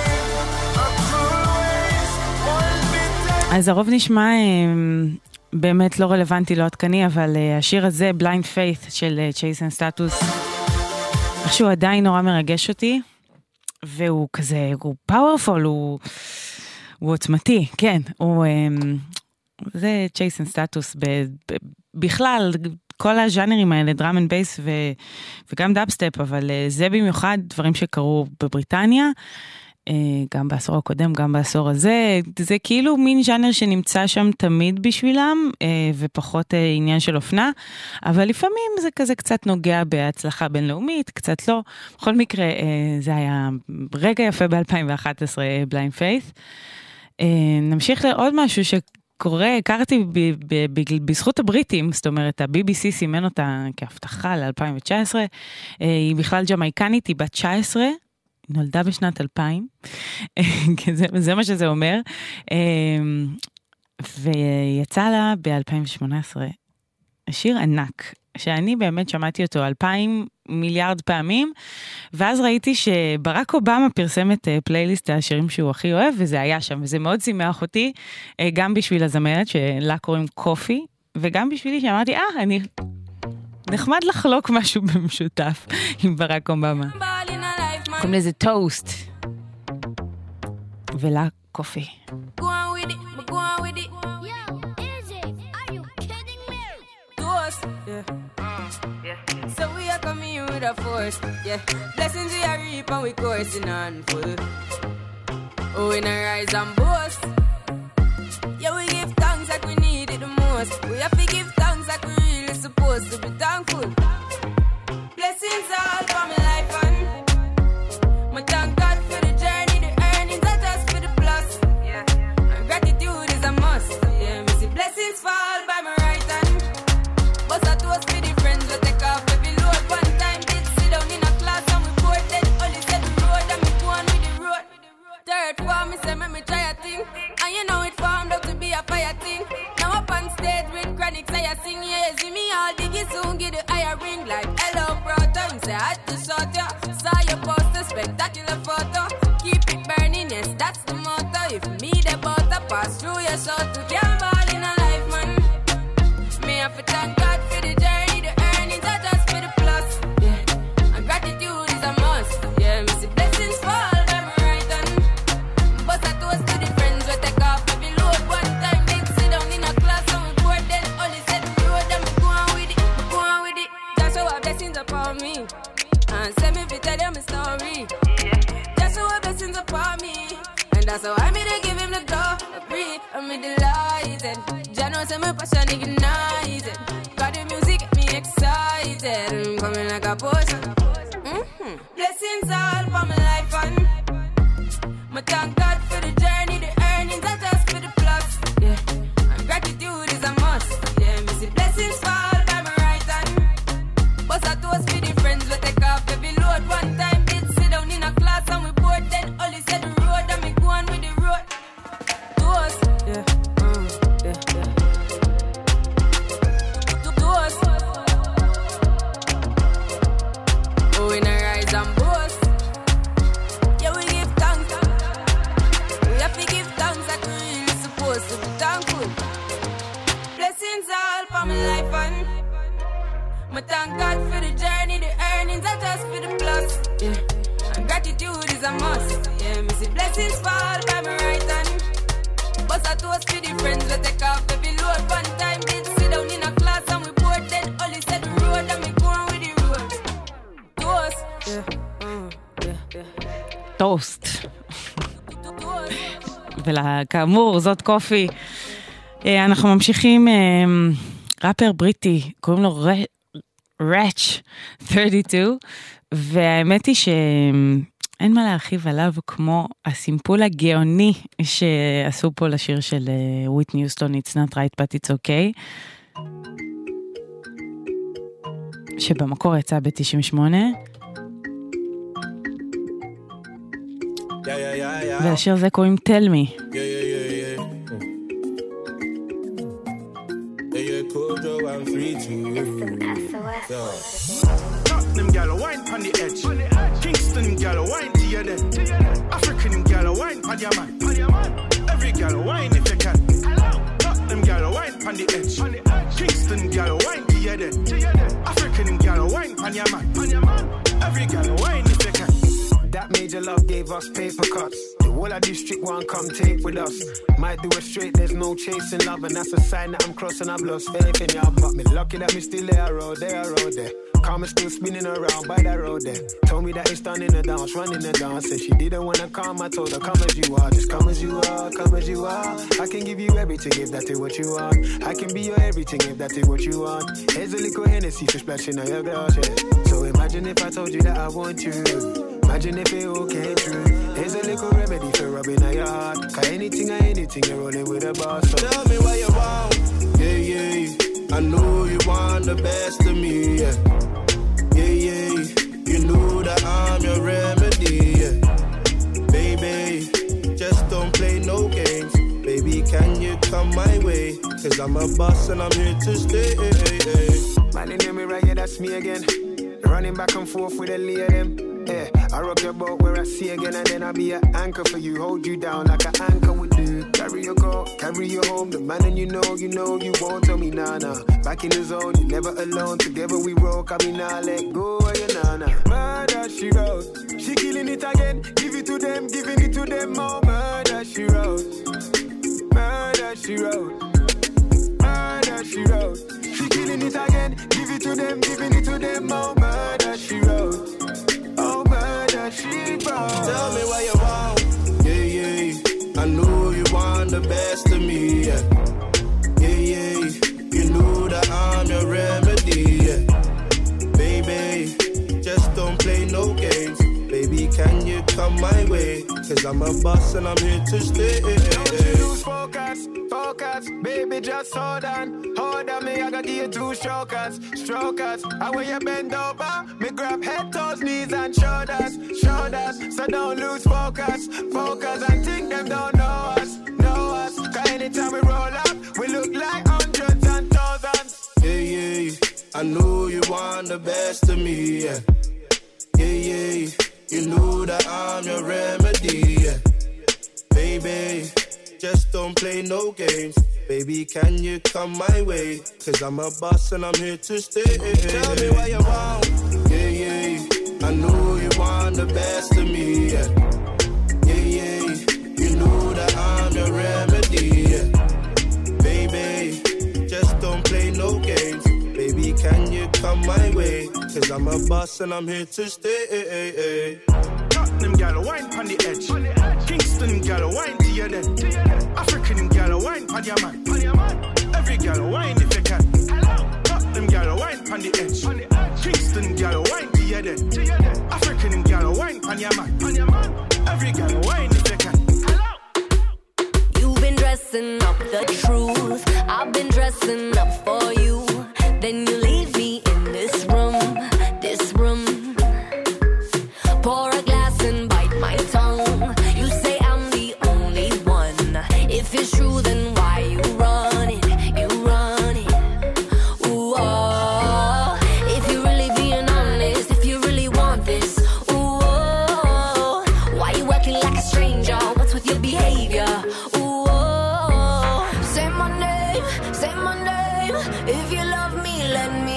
אז הרוב נשמע באמת לא רלוונטי, לא עדכני, אבל השיר הזה, Blind Faith של צ'ייסן סטטוס, איכשהו עדיין נורא מרגש אותי, והוא כזה, הוא פאורפול, הוא, הוא עוצמתי, כן, הוא, זה צ'ייסן סטטוס, בכלל, כל הז'אנרים האלה, דראם אנד בייס וגם דאפסטפ, אבל זה במיוחד דברים שקרו בבריטניה, גם בעשור הקודם, גם בעשור הזה, זה כאילו מין ז'אנר שנמצא שם תמיד בשבילם, ופחות עניין של אופנה, אבל לפעמים זה כזה קצת נוגע בהצלחה בינלאומית, קצת לא. בכל מקרה, זה היה רגע יפה ב-אלפיים ואחת עשרה, Blind Faith. נמשיך לעוד משהו שקורה, הכרתי בזכות הבריטים, זאת אומרת, ה-בי בי סי סימן אותה כהבטחה ל-אלפיים ותשע עשרה, היא בכלל ג'מייקנית, היא בת תשע עשרה, נולדה בשנת אלפיים, זה, זה מה שזה אומר, ויצא לה ב-אלפיים ושמונה עשרה שיר ענק, שאני באמת שמעתי אותו אלפיים מיליארד פעמים, ואז ראיתי שברק אובמה פרסם את פלייליסט השירים שהוא הכי אוהב, וזה היה שם, וזה מאוד שימח אותי, גם בשביל הזמרת שלה קוראים קופי, וגם בשבילי שאמרתי, אה, אני נחמד לחלוק משהו במשותף עם ברק אובמה. קוראים לזה טוסט. ולה קופי. Go on with it, but go on with it. Yo, Izzy, are you kidding me? Toast, yeah. yeah. So we are coming here with a force, yeah. Blessings we are reap and we coursing on full. Oh, we not rise and boast. Yeah, we give thanks like we need it the most. We have to give thanks like we really supposed to be thankful. Blessings all for my life and my thank God for the journey, the earnings are just for the plus. Yeah. And gratitude is a must. Yeah, me see blessings fall by my right hand. But I toast for the friends we take off every load. One time did sit down in a class and we bored then only said the road and me go on with the road. Third form, me say make me try a thing. And you know it formed up to be a fire thing. Now up on stage with chronics I sing. Yeah, see me all diggy soon get the higher ring like hello brother. You say I had to shot ya. Saw your poster, spectacular photo. Keep it burning, yes, that's the motto. If me the butter pass through your soul to get ball in a life, man. Me have to thank God for the journey, the earnings are just for the plus. Yeah, and gratitude is a must. Yeah, me see blessings fall by my right hand. But I toast to the friends we take off every load. One time they sit down in a class and we bored then only said the road and we go on with it, go on with it. Just show our blessings upon me. And send me to tell them a story. Just show our blessings upon me. And that's how I made to give him the glory. I'm delighted. Jah knows I'm passion ignited. Got the music get me excited. I'm coming like a potion. Mm-hmm. Blessings all for my life and my thank God for the journey. The earnings are just for the plus. Yeah, and gratitude is a must. Yeah, me see blessings fall by my right hand. But I toast for the friends we take off every load. One time did sit down in a class and we bored then only said the road and me go on with the road. Toast, yeah, mm, yeah, yeah. Toast. Oh, we not rise and boast. Yeah, we give thanks. We have to give thanks like we really supposed to be thankful. Blessings all for my life and my thank God for the journey, the earnings are just for the plus. Yeah, and gratitude is a must. Yeah, me see blessings fall by my right hand. But I toast for the friends we take off every load. One time did sit down in a class and we bored then only said the road and me go on with the road. Toast. Yeah, mm, yeah, yeah. טוסט. וכאמור, זאת קופי. אנחנו ממשיכים, ראפר בריטי, קוראים לו רץ' שלושים ושתיים, והאמת היא שאין מה להרחיב עליו כמו הסימפול הגאוני שעשו פה לשיר של וויטני יוסטון, It's not right but it's okay, שבמקור יצא ב-תשעים ושמונה, והשיר הזה קוראים Tell Me. Kojo, I'm free to you. Yo. Them gal wine on the edge. Kingston gal wine to your dead. African gal wine on your man. Every gal wine if you can. Them gal wine on the edge. Kingston gal wine to your dead. African gal wine on your man. Every gal wine if you can. That major love gave us paper cuts. The whole of district one come take with us. Might do it straight, there's no chasing love, and that's a sign that I'm crossing. I've lost faith in y'all, but me lucky that me still there, road there, road there. Car me still spinning around by that road there. Told me that it's done in the dance, running the dance. Said she didn't wanna come, I told her come as you are, just come as you are, come as you are. I can give you everything if that is what you want. I can be your everything if that is what you want. Here's a little Hennessy for splashing on your glass, yeah. So imagine if I told you that I want you. Imagine if it all came true. Here's a little remedy for rubbing on your heart. Cause anything or anything, you're rolling with a boss. So tell me what you want. Yeah, yeah. I know you want the best of me. Yeah, yeah, yeah. You know that I'm your remedy. Yeah. Baby, just don't play no games. Baby, can you come my way? Cause I'm a boss and I'm here to stay. Man, you know me right, yeah, that's me again. Running back and forth with a lay of them. Yeah, I rock your boat where I see again, and then I'll be an anchor for you. Hold you down like an anchor would do. Carry your car, carry you home. The man and you know, you know, you won't tell me nah nah. Back in the zone, you're never alone. Together we roll, I mean nah, let go of your nana. Murder she wrote, she killing it again. Give it to them, giving it to them more. Murder she wrote, murder she wrote, murder she wrote. She killing it again. Give it to them, giving it to them more. Murder she wrote. Oh, murder, she brought. Tell me what you want. Yeah, yeah. I know you want the best of me. Yeah, yeah, yeah. You know that I'm your remedy. Yeah. Baby, just don't play no games. Baby, can you come my way? Cause I'm a boss and I'm here to stay. Don't you lose focus, focus. Baby, just hold on. Hold on, me, I gotta give you two strokers, strokers. I when you bend over, me grab head, toes, knees and shoulders, shoulders. So don't lose focus, focus. And think them don't know us, know us. Cause anytime we roll up, we look like hundreds and thousands. Yeah, yeah. I know you want the best of me. Yeah, yeah, yeah. You know that I'm your remedy. Yeah. Baby, just don't play no games. Baby, can you come my way? Cause I'm a boss and I'm here to stay. Tell me what you want. Yeah, yeah. I know you want the best of me. Yeah, yeah, yeah. You know that I'm your remedy. Yeah. Baby, just don't play no games. Baby, can you come my way? Cause I'm a boss and I'm here to stay. Them gal wine on the edge. Kingston gal wine to your dead. African gal wine on your man. Every gal wine if you can. Them gal wine on the edge. Kingston gal wine to your dead. African gal wine on your man. Every gal wine if you can. You've been dressing up the truth. I've been dressing up for you. Then you leave me in this room, this room. Pour a glass and bite my tongue. You say I'm the only one. If it's true, then why you run it? You run it. Ooh, oh. If you're really being honest, if you really want this, ooh, oh. Why you acting like a stranger? What's with your behavior? Ooh, oh. Say my name, say my name. If you love me, let me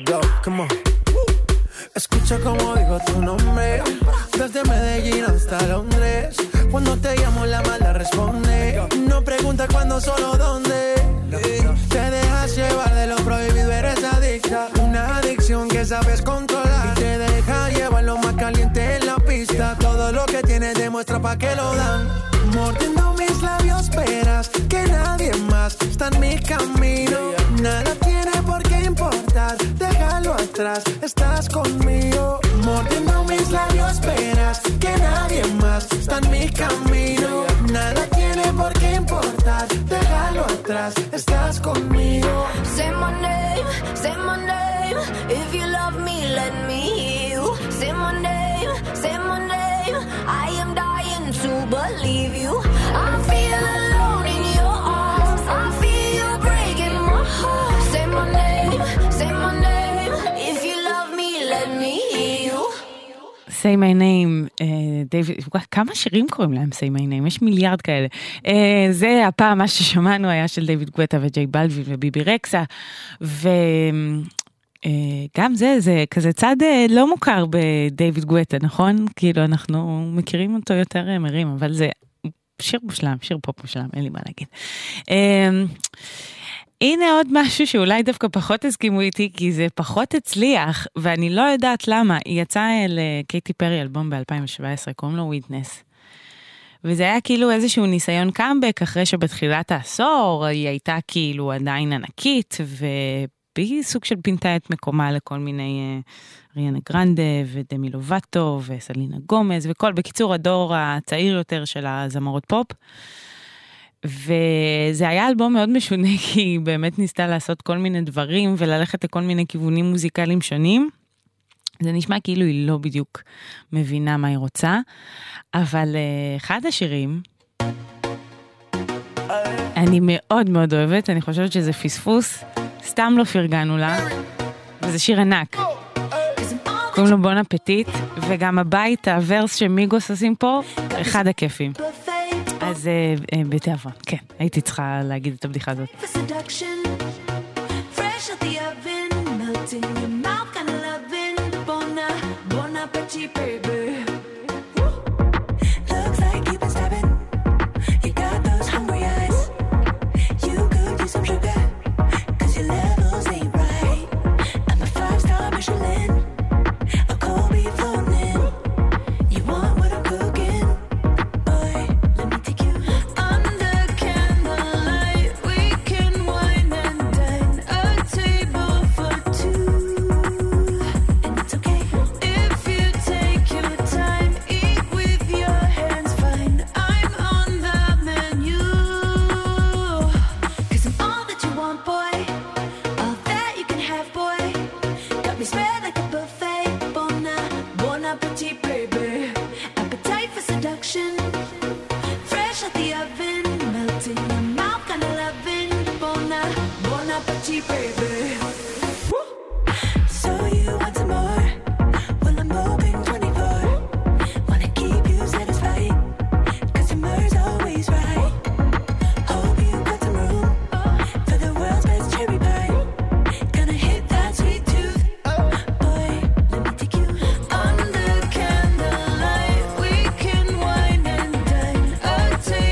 go, come on. Escucha como digo tu nombre, desde Medellín hasta Londres. Cuando te llamo la mala responde, no pregunta cuándo, solo dónde. Te dejas llevar de lo prohibido, eres adicta. Una adicción que sabes controlar y te deja llevar lo más caliente en la pista. Todo lo que tienes demuestra pa' que lo dan. Mordiendo mis labios esperas que nadie más está en mi camino. Nada tiene por qué importar, déjalo atrás, estás conmigo. Mordiendo mis labios esperas que nadie más está en mi camino. Nada tiene por qué importar, déjalo atrás, estás conmigo. Say my name, say my name. If you love me, let me hear you. Say my name, say my name. I am dying to believe you. I feel alone in your arms. I feel you breaking my heart. Say my name, say my name. If you love me, let me hear you. Say my name, דיוויד, כמה שירים קוראים להם Say my name, יש מיליארד כאלה. זה הפעם מה ששמענו היה של דיוויד גואטה וג'יי בלווין וביבי רקסה, וגם זה, זה כזה צד לא מוכר בדיוויד גואטה, נכון? כאילו אנחנו מכירים אותו יותר מרים, אבל זה שיר מושלם, שיר פופ מושלם, אין לי מה להגיד. הנה עוד משהו שאולי דווקא פחות הסכימו איתי, כי זה פחות הצליח, ואני לא יודעת למה. היא יצאה לקייטי פרי אלבום ב-אלפיים שבע עשרה, קוראים לו וויטנס. וזה היה כאילו איזשהו ניסיון קאמבק, אחרי שבתחילת העשור היא הייתה כאילו עדיין ענקית, והיא סוג של פינתה את מקומה לכל מיני ריאנה גרנדה ודמי לובטו וסלינה גומז, וכל בקיצור הדור הצעיר יותר של הזמרות פופ. וזה היה אלבום מאוד משונה, כי היא באמת ניסתה לעשות כל מיני דברים, וללכת לכל מיני כיוונים מוזיקליים שונים. זה נשמע כאילו היא לא בדיוק מבינה מה היא רוצה, אבל אחד השירים, אני מאוד מאוד אוהבת, אני חושבת שזה פספוס, סתם לא פרגנו לה, וזה שיר ענק. קוראים לו בון אפטיט, וגם הבית, הוורס שמיגוס עושים פה, אחד הכיפים. אז בתיאבון, כן, הייתי צריכה להגיד את הבדיחה הזאת.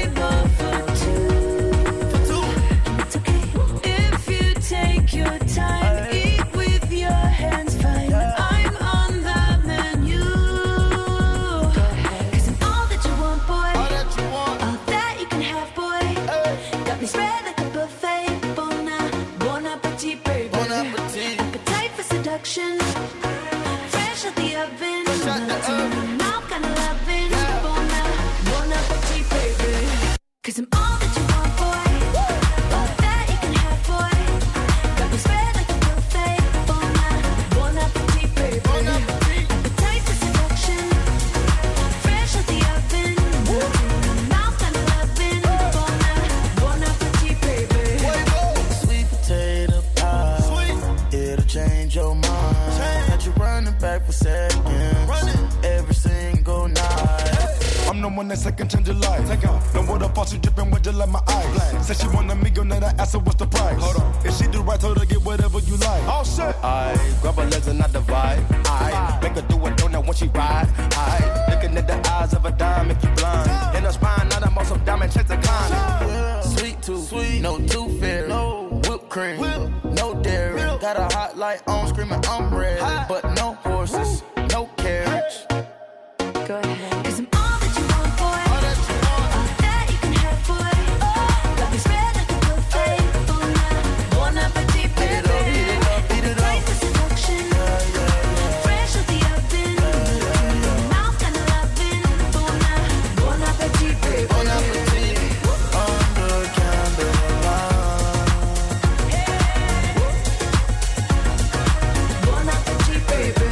Your time. the one that second change your life. Take out. No water faucet dripping with just like my eyes. Black. Said she want a million, then I asked her what's the price. Hold on. If she do right, told her get whatever you like. Oh shit. I grab her legs and I divide. I make her do a donut when she ride. I looking at the eyes of a dime make you blind. In her spine, now I'm on some diamond checks and climb. Sweet tooth, sweet, no tooth fairy, no whipped cream, Whip. no dairy. Whip. Got a hot light on, screaming I'm ready, hot. But no horses, no carriage. Go ahead. 'Cause I'm all that you want, boy. All that you want. All that you can have, boy. Oh, got me spread like a buffet. Oh, nah. Bon appetit, baby. Beat it up, beat it up. Right for seduction. Yeah, yeah, yeah. Fresh out the oven. Yeah, yeah, yeah. Mouth kinda loving. Oh, nah. Bon appetit, baby. Bon appetit. Under candlelight. Bon appetit, baby.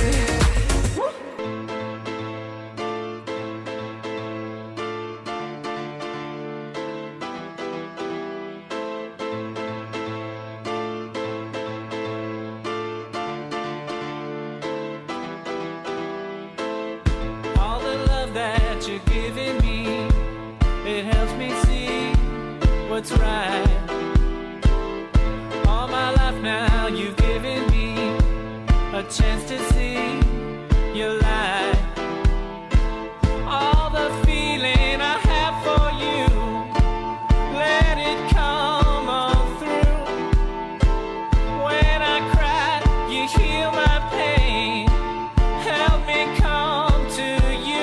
All the love that you're giving me, it helps me see what's right. All my life now you've given me a chance to see your light. All the feeling I have for you, let it come on through. When I cry, you heal my pain. Help me come to you.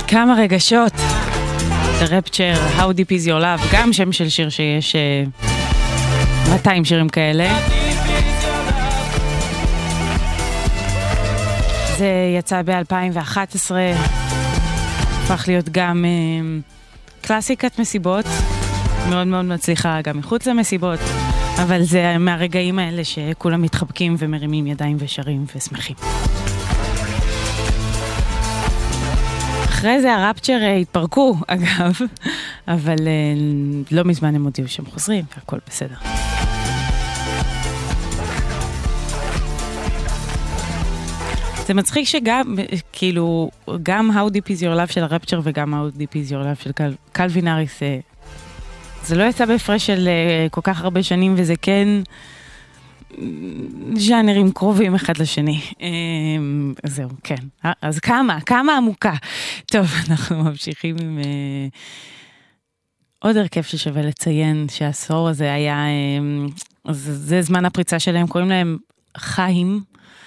כמה רגשות. The Rapture, How Deep Is Your Love, גם שם של שיר שיש uh, מאתיים שירים כאלה. זה יצא ב-אלפיים ואחת עשרה, הפך להיות גם uh, קלאסיקת מסיבות, מאוד מאוד מצליחה גם מחוץ למסיבות, אבל זה מהרגעים האלה שכולם מתחבקים ומרימים ידיים ושרים ושמחים. אחרי זה הרפצ'ר התפרקו, אגב, אבל לא מזמן הם הודיעו שהם חוזרים, והכל בסדר. זה מצחיק שגם, כאילו, גם How Deep Is Your Love של הרפצ'ר וגם How Deep Is Your Love של קלווין האריס, זה לא יצא בהפרש של כל כך הרבה שנים, וזה כן ז'אנרים קרובים אחד לשני. זהו, כן. אז כמה, כמה עמוקה. טוב, אנחנו ממשיכים עם עוד הרכב ששווה לציין שהעשור הזה היה, זה זמן הפריצה שלהם, קוראים להם חיים,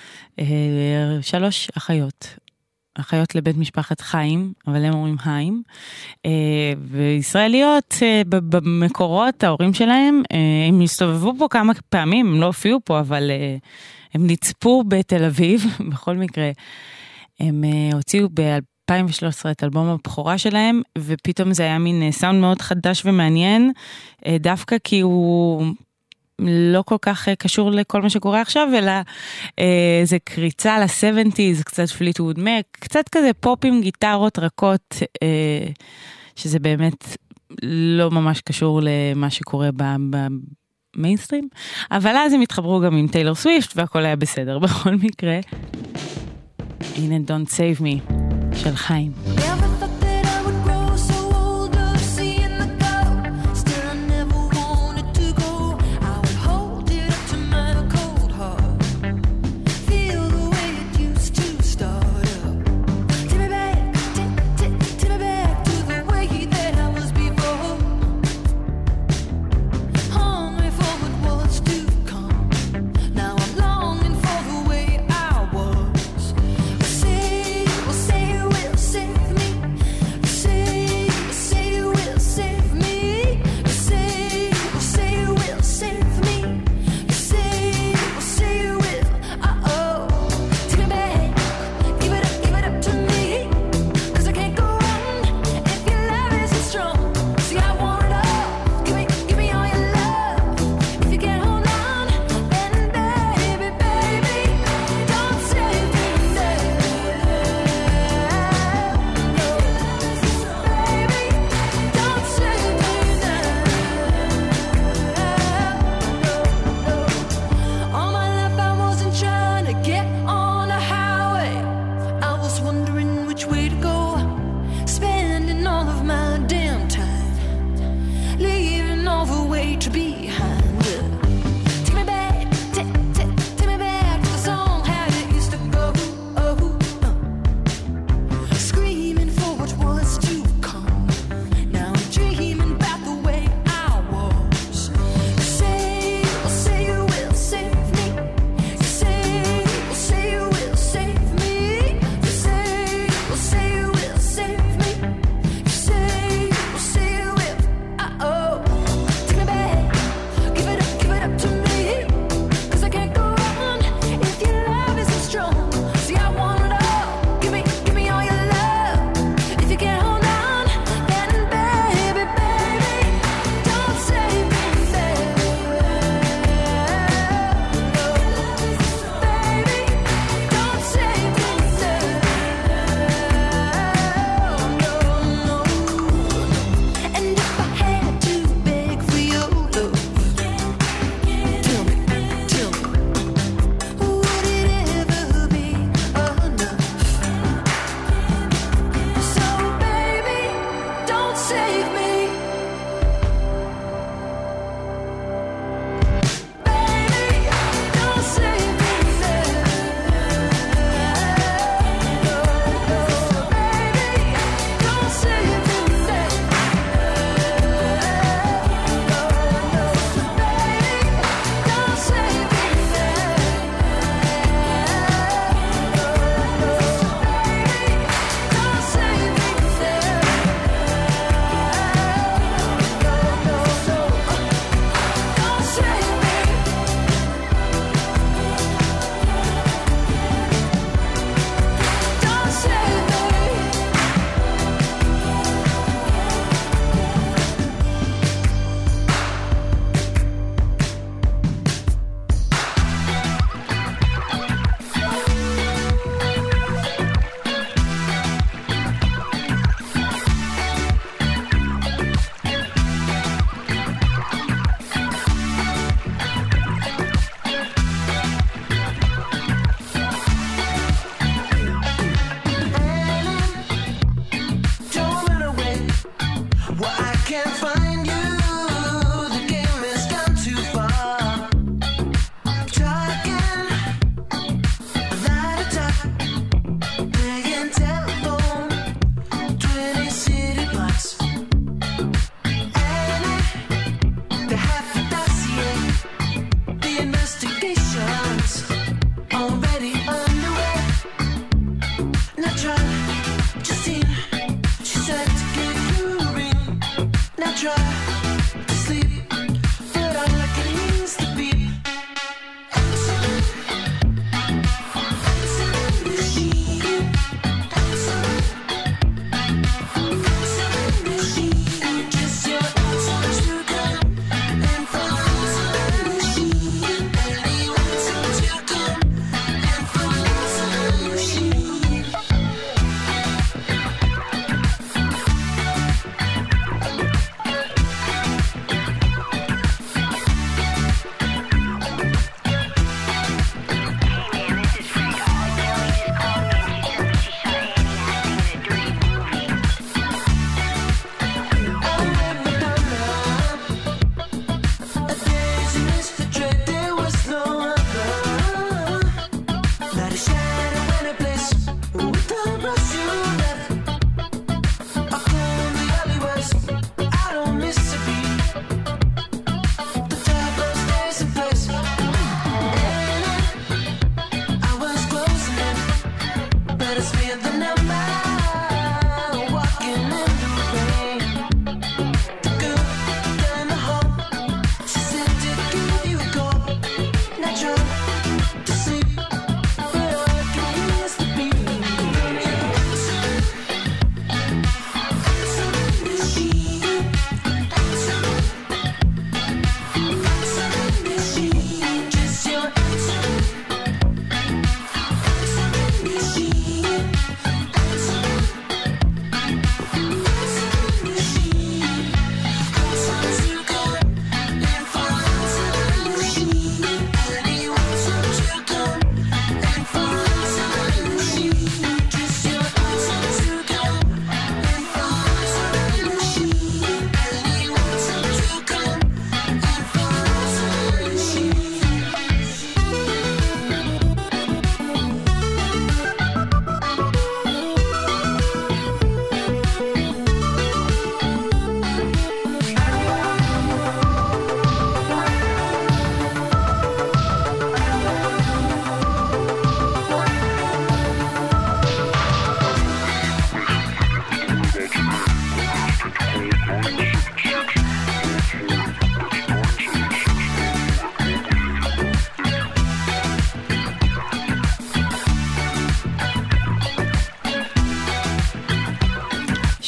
שלוש אחיות. אחיות לבית משפחת חיים, אבל הם אומרים חיים, וישראליות במקורות, ההורים שלהם, הם הסתובבו פה כמה פעמים, הם לא הופיעו פה, אבל הם נצפו בתל אביב, בכל מקרה, הם הוציאו ב-אלפיים ושלוש עשרה את אלבום הבכורה שלהם, ופתאום זה היה מין סאונד מאוד חדש ומעניין, דווקא כי הוא לא כל כך קשור לכל מה שקורה עכשיו, אלא אה, זה קריצה ל-שבעים, קצת פליטווד מק, קצת כזה פופ עם גיטרות רכות, אה, שזה באמת לא ממש קשור למה שקורה במיינסטרים, אבל אז הם התחברו גם עם טיילור סוויפט, והכל היה בסדר. בכל מקרה, הנה Don't Save Me של חיים. Save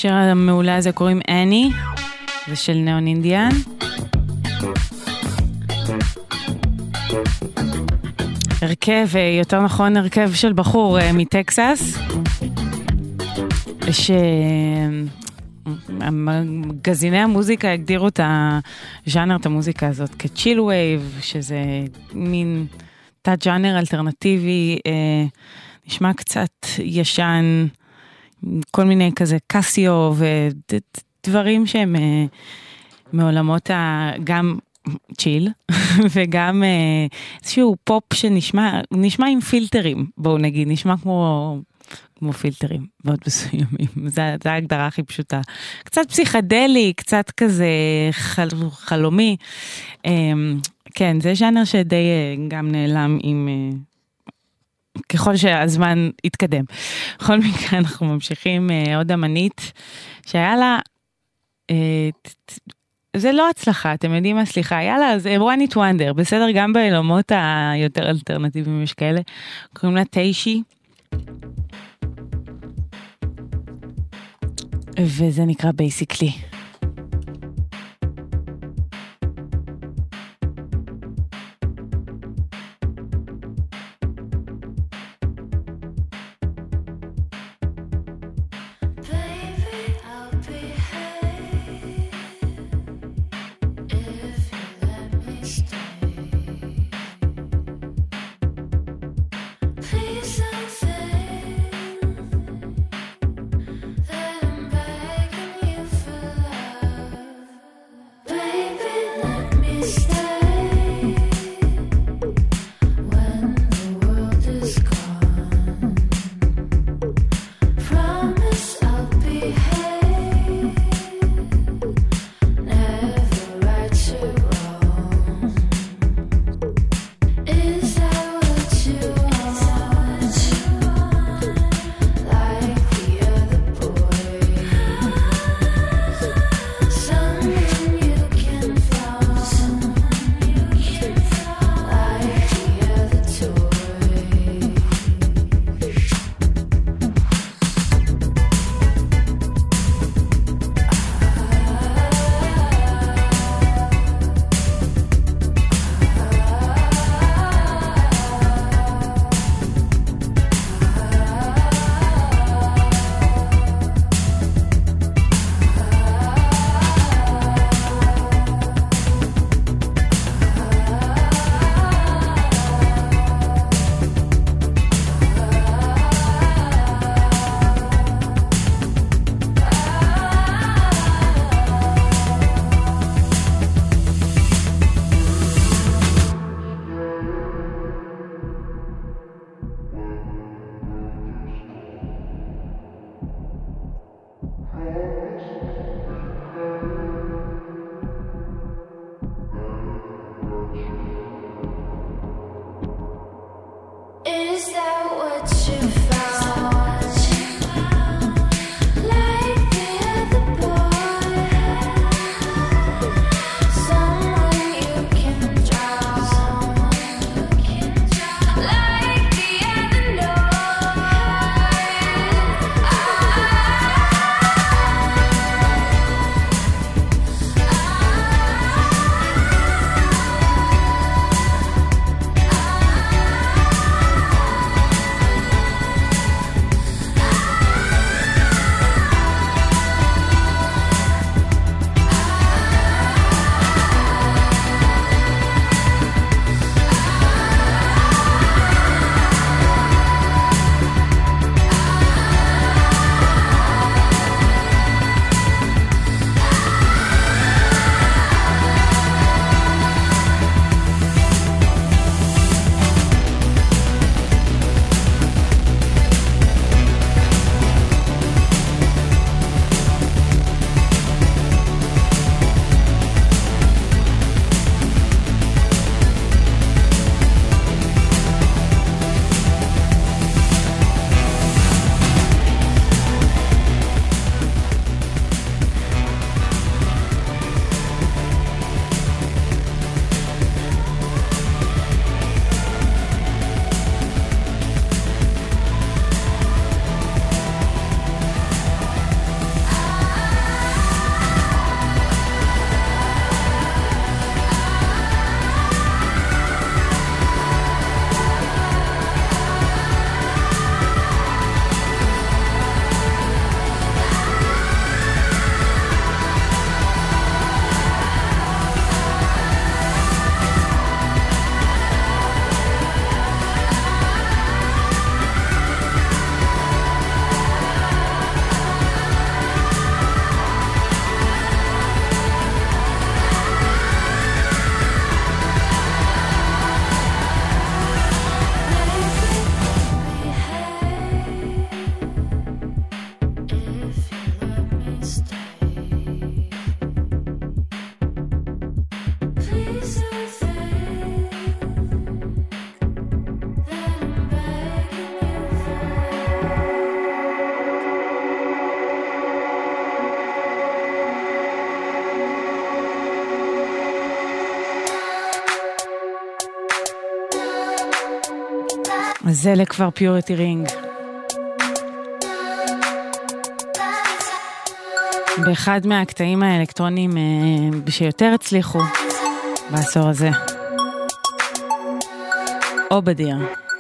השיר המעולה הזה קוראים אני, זה של נאון אינדיאן. הרכב, יותר נכון הרכב של בחור מטקסס, שמגזיני המוזיקה הגדירו את הז'אנר, את המוזיקה הזאת כצ'יל וייב, שזה מין תת ז'אנר אלטרנטיבי, נשמע קצת ישן, כל מיני כזה קסיו ודברים שהם מעולמות גם צ'יל וגם איזשהו פופ שנשמע נשמע עם פילטרים, בואו נגיד, נשמע כמו כמו פילטרים מאוד מסוימים, זו ההגדרה הכי פשוטה, קצת פסיכדלי, קצת כזה חל, חלומי, כן, זה ז'אנר שדי גם נעלם עם ככל שהזמן יתקדם. בכל מקרה אנחנו ממשיכים עוד אמנית שהיה לה, זה לא הצלחה, אתם יודעים מה, סליחה, היה לה, זה one hit wonder, בסדר, גם בעולמות היותר אלטרנטיביים יש כאלה, קוראים לה טיישי, וזה נקרא Basically. That I'm begging you for love. אז זה לכבר פיוריטי רינג. באחד מהקטעים האלקטרונים שיותר הצליחו בעשור הזה. אובדיר.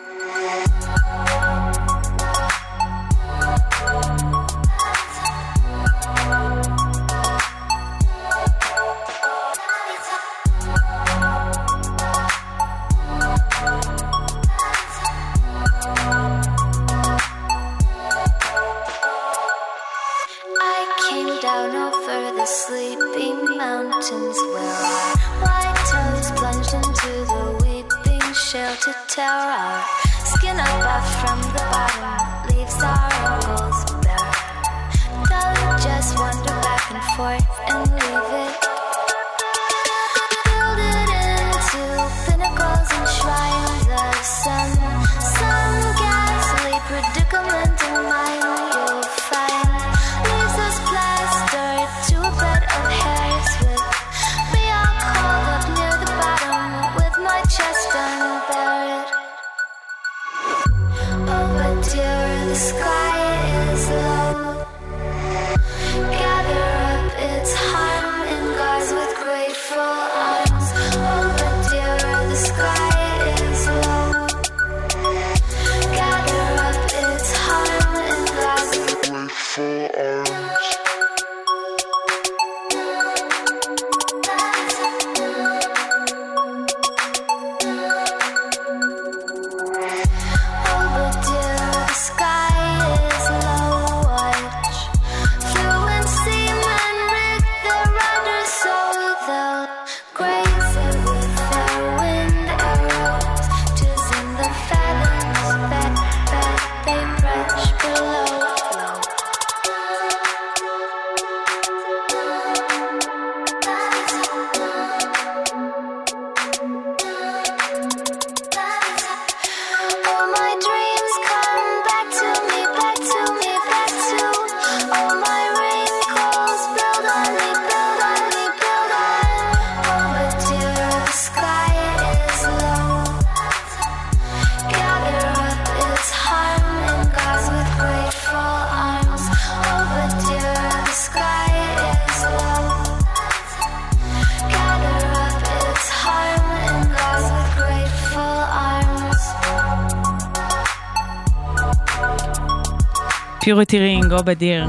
פיוריטי רינג, אובדיר.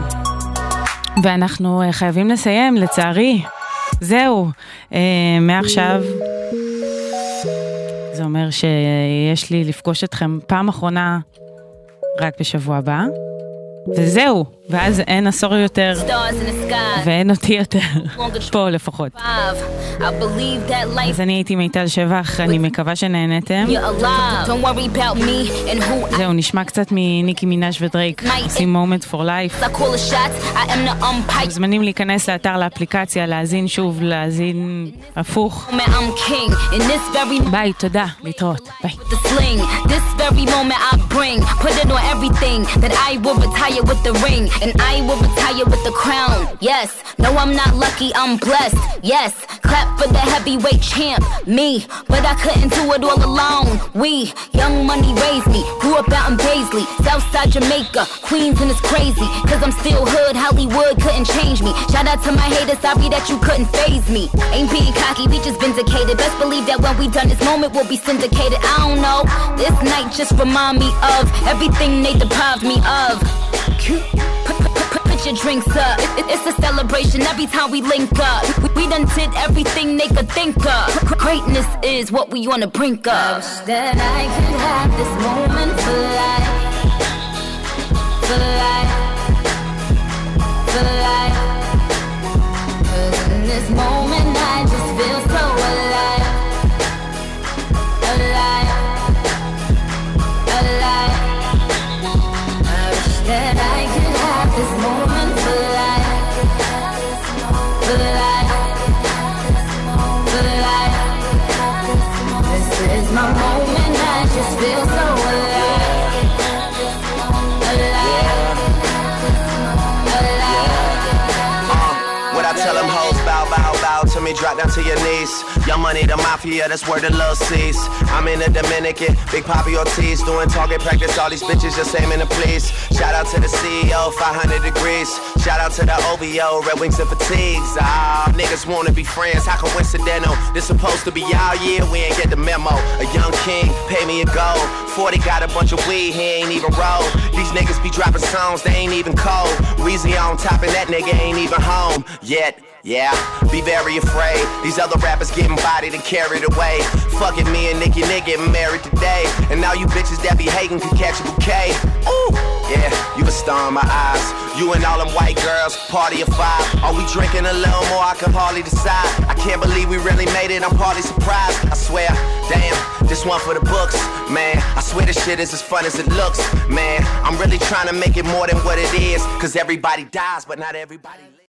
ואנחנו חייבים לסיים, לצערי. זהו, מעכשיו זה אומר שיש לי לפגוש אתכם פעם אחרונה רק בשבוע הבא. וזהו, ואז אין עשור יותר ואין אותי יותר פה לפחות. אז אני הייתי מיטל שבח, אני מקווה שנהנתם. זהו, נשמע קצת מניקי מינאז' ודרייק, עושים Moment for Life. מוזמנים להיכנס לאתר, לאפליקציה, להאזין שוב, להאזין הפוך. ביי, תודה, להתראות, ביי. With the ring, and I will retire with the crown. Yes, no, I'm not lucky, I'm blessed. Yes, clap for the heavyweight champ, me. But I couldn't do it all alone. We, young money raised me, grew up out in Paisley, Southside Jamaica, Queens, and it's crazy, cause I'm still hood, Hollywood couldn't change me. Shout out to my haters, sorry that you couldn't faze me. Ain't being cocky, we just vindicated. Best believe that when we done this moment, we'll be syndicated. I don't know, this night just remind me of everything they deprived me of. Put, put, put, put your drinks up. It, it, it's a celebration every time we link up. We, we done did everything they could think of. Greatness is what we on the brink of. I wish that I could have this moment for life, for life, for life. 'Cause in this moment I just feel so alive, alive, alive. That I could have this moment for life, for life, for life. This is my moment, I just feel so alive, alive, alive. Uh, when I tell them hoes bow, bow, bow to me, drop down to your knees. Young Money, the Mafia, that's where the love sees. I'm in the Dominican, Big Papi Ortiz, doing target practice, all these bitches just aiming to please. Shout out to the C E O, five hundred degrees. Shout out to the O V O, Red Wings and Fatigues. Ah, niggas wanna be friends, how coincidental? This supposed to be y'all year, we ain't get the memo. A young king, pay me a gold. forty got a bunch of weed, he ain't even roll. These niggas be dropping songs, they ain't even cold. Weezy on top and that nigga ain't even home yet. Yeah, be very afraid. These other rappers getting bodied and carried away. Fucking me and Nicki Nick getting married today. And now you bitches that be hating can catch a bouquet. Ooh, yeah, you a star in my eyes. You and all them white girls, party of five. Are we drinking a little more? I can hardly decide. I can't believe we really made it, I'm partly surprised. I swear, damn, this one for the books. Man, I swear this shit is as fun as it looks. Man, I'm really trying to make it more than what it is. Cause everybody dies, but not everybody lives.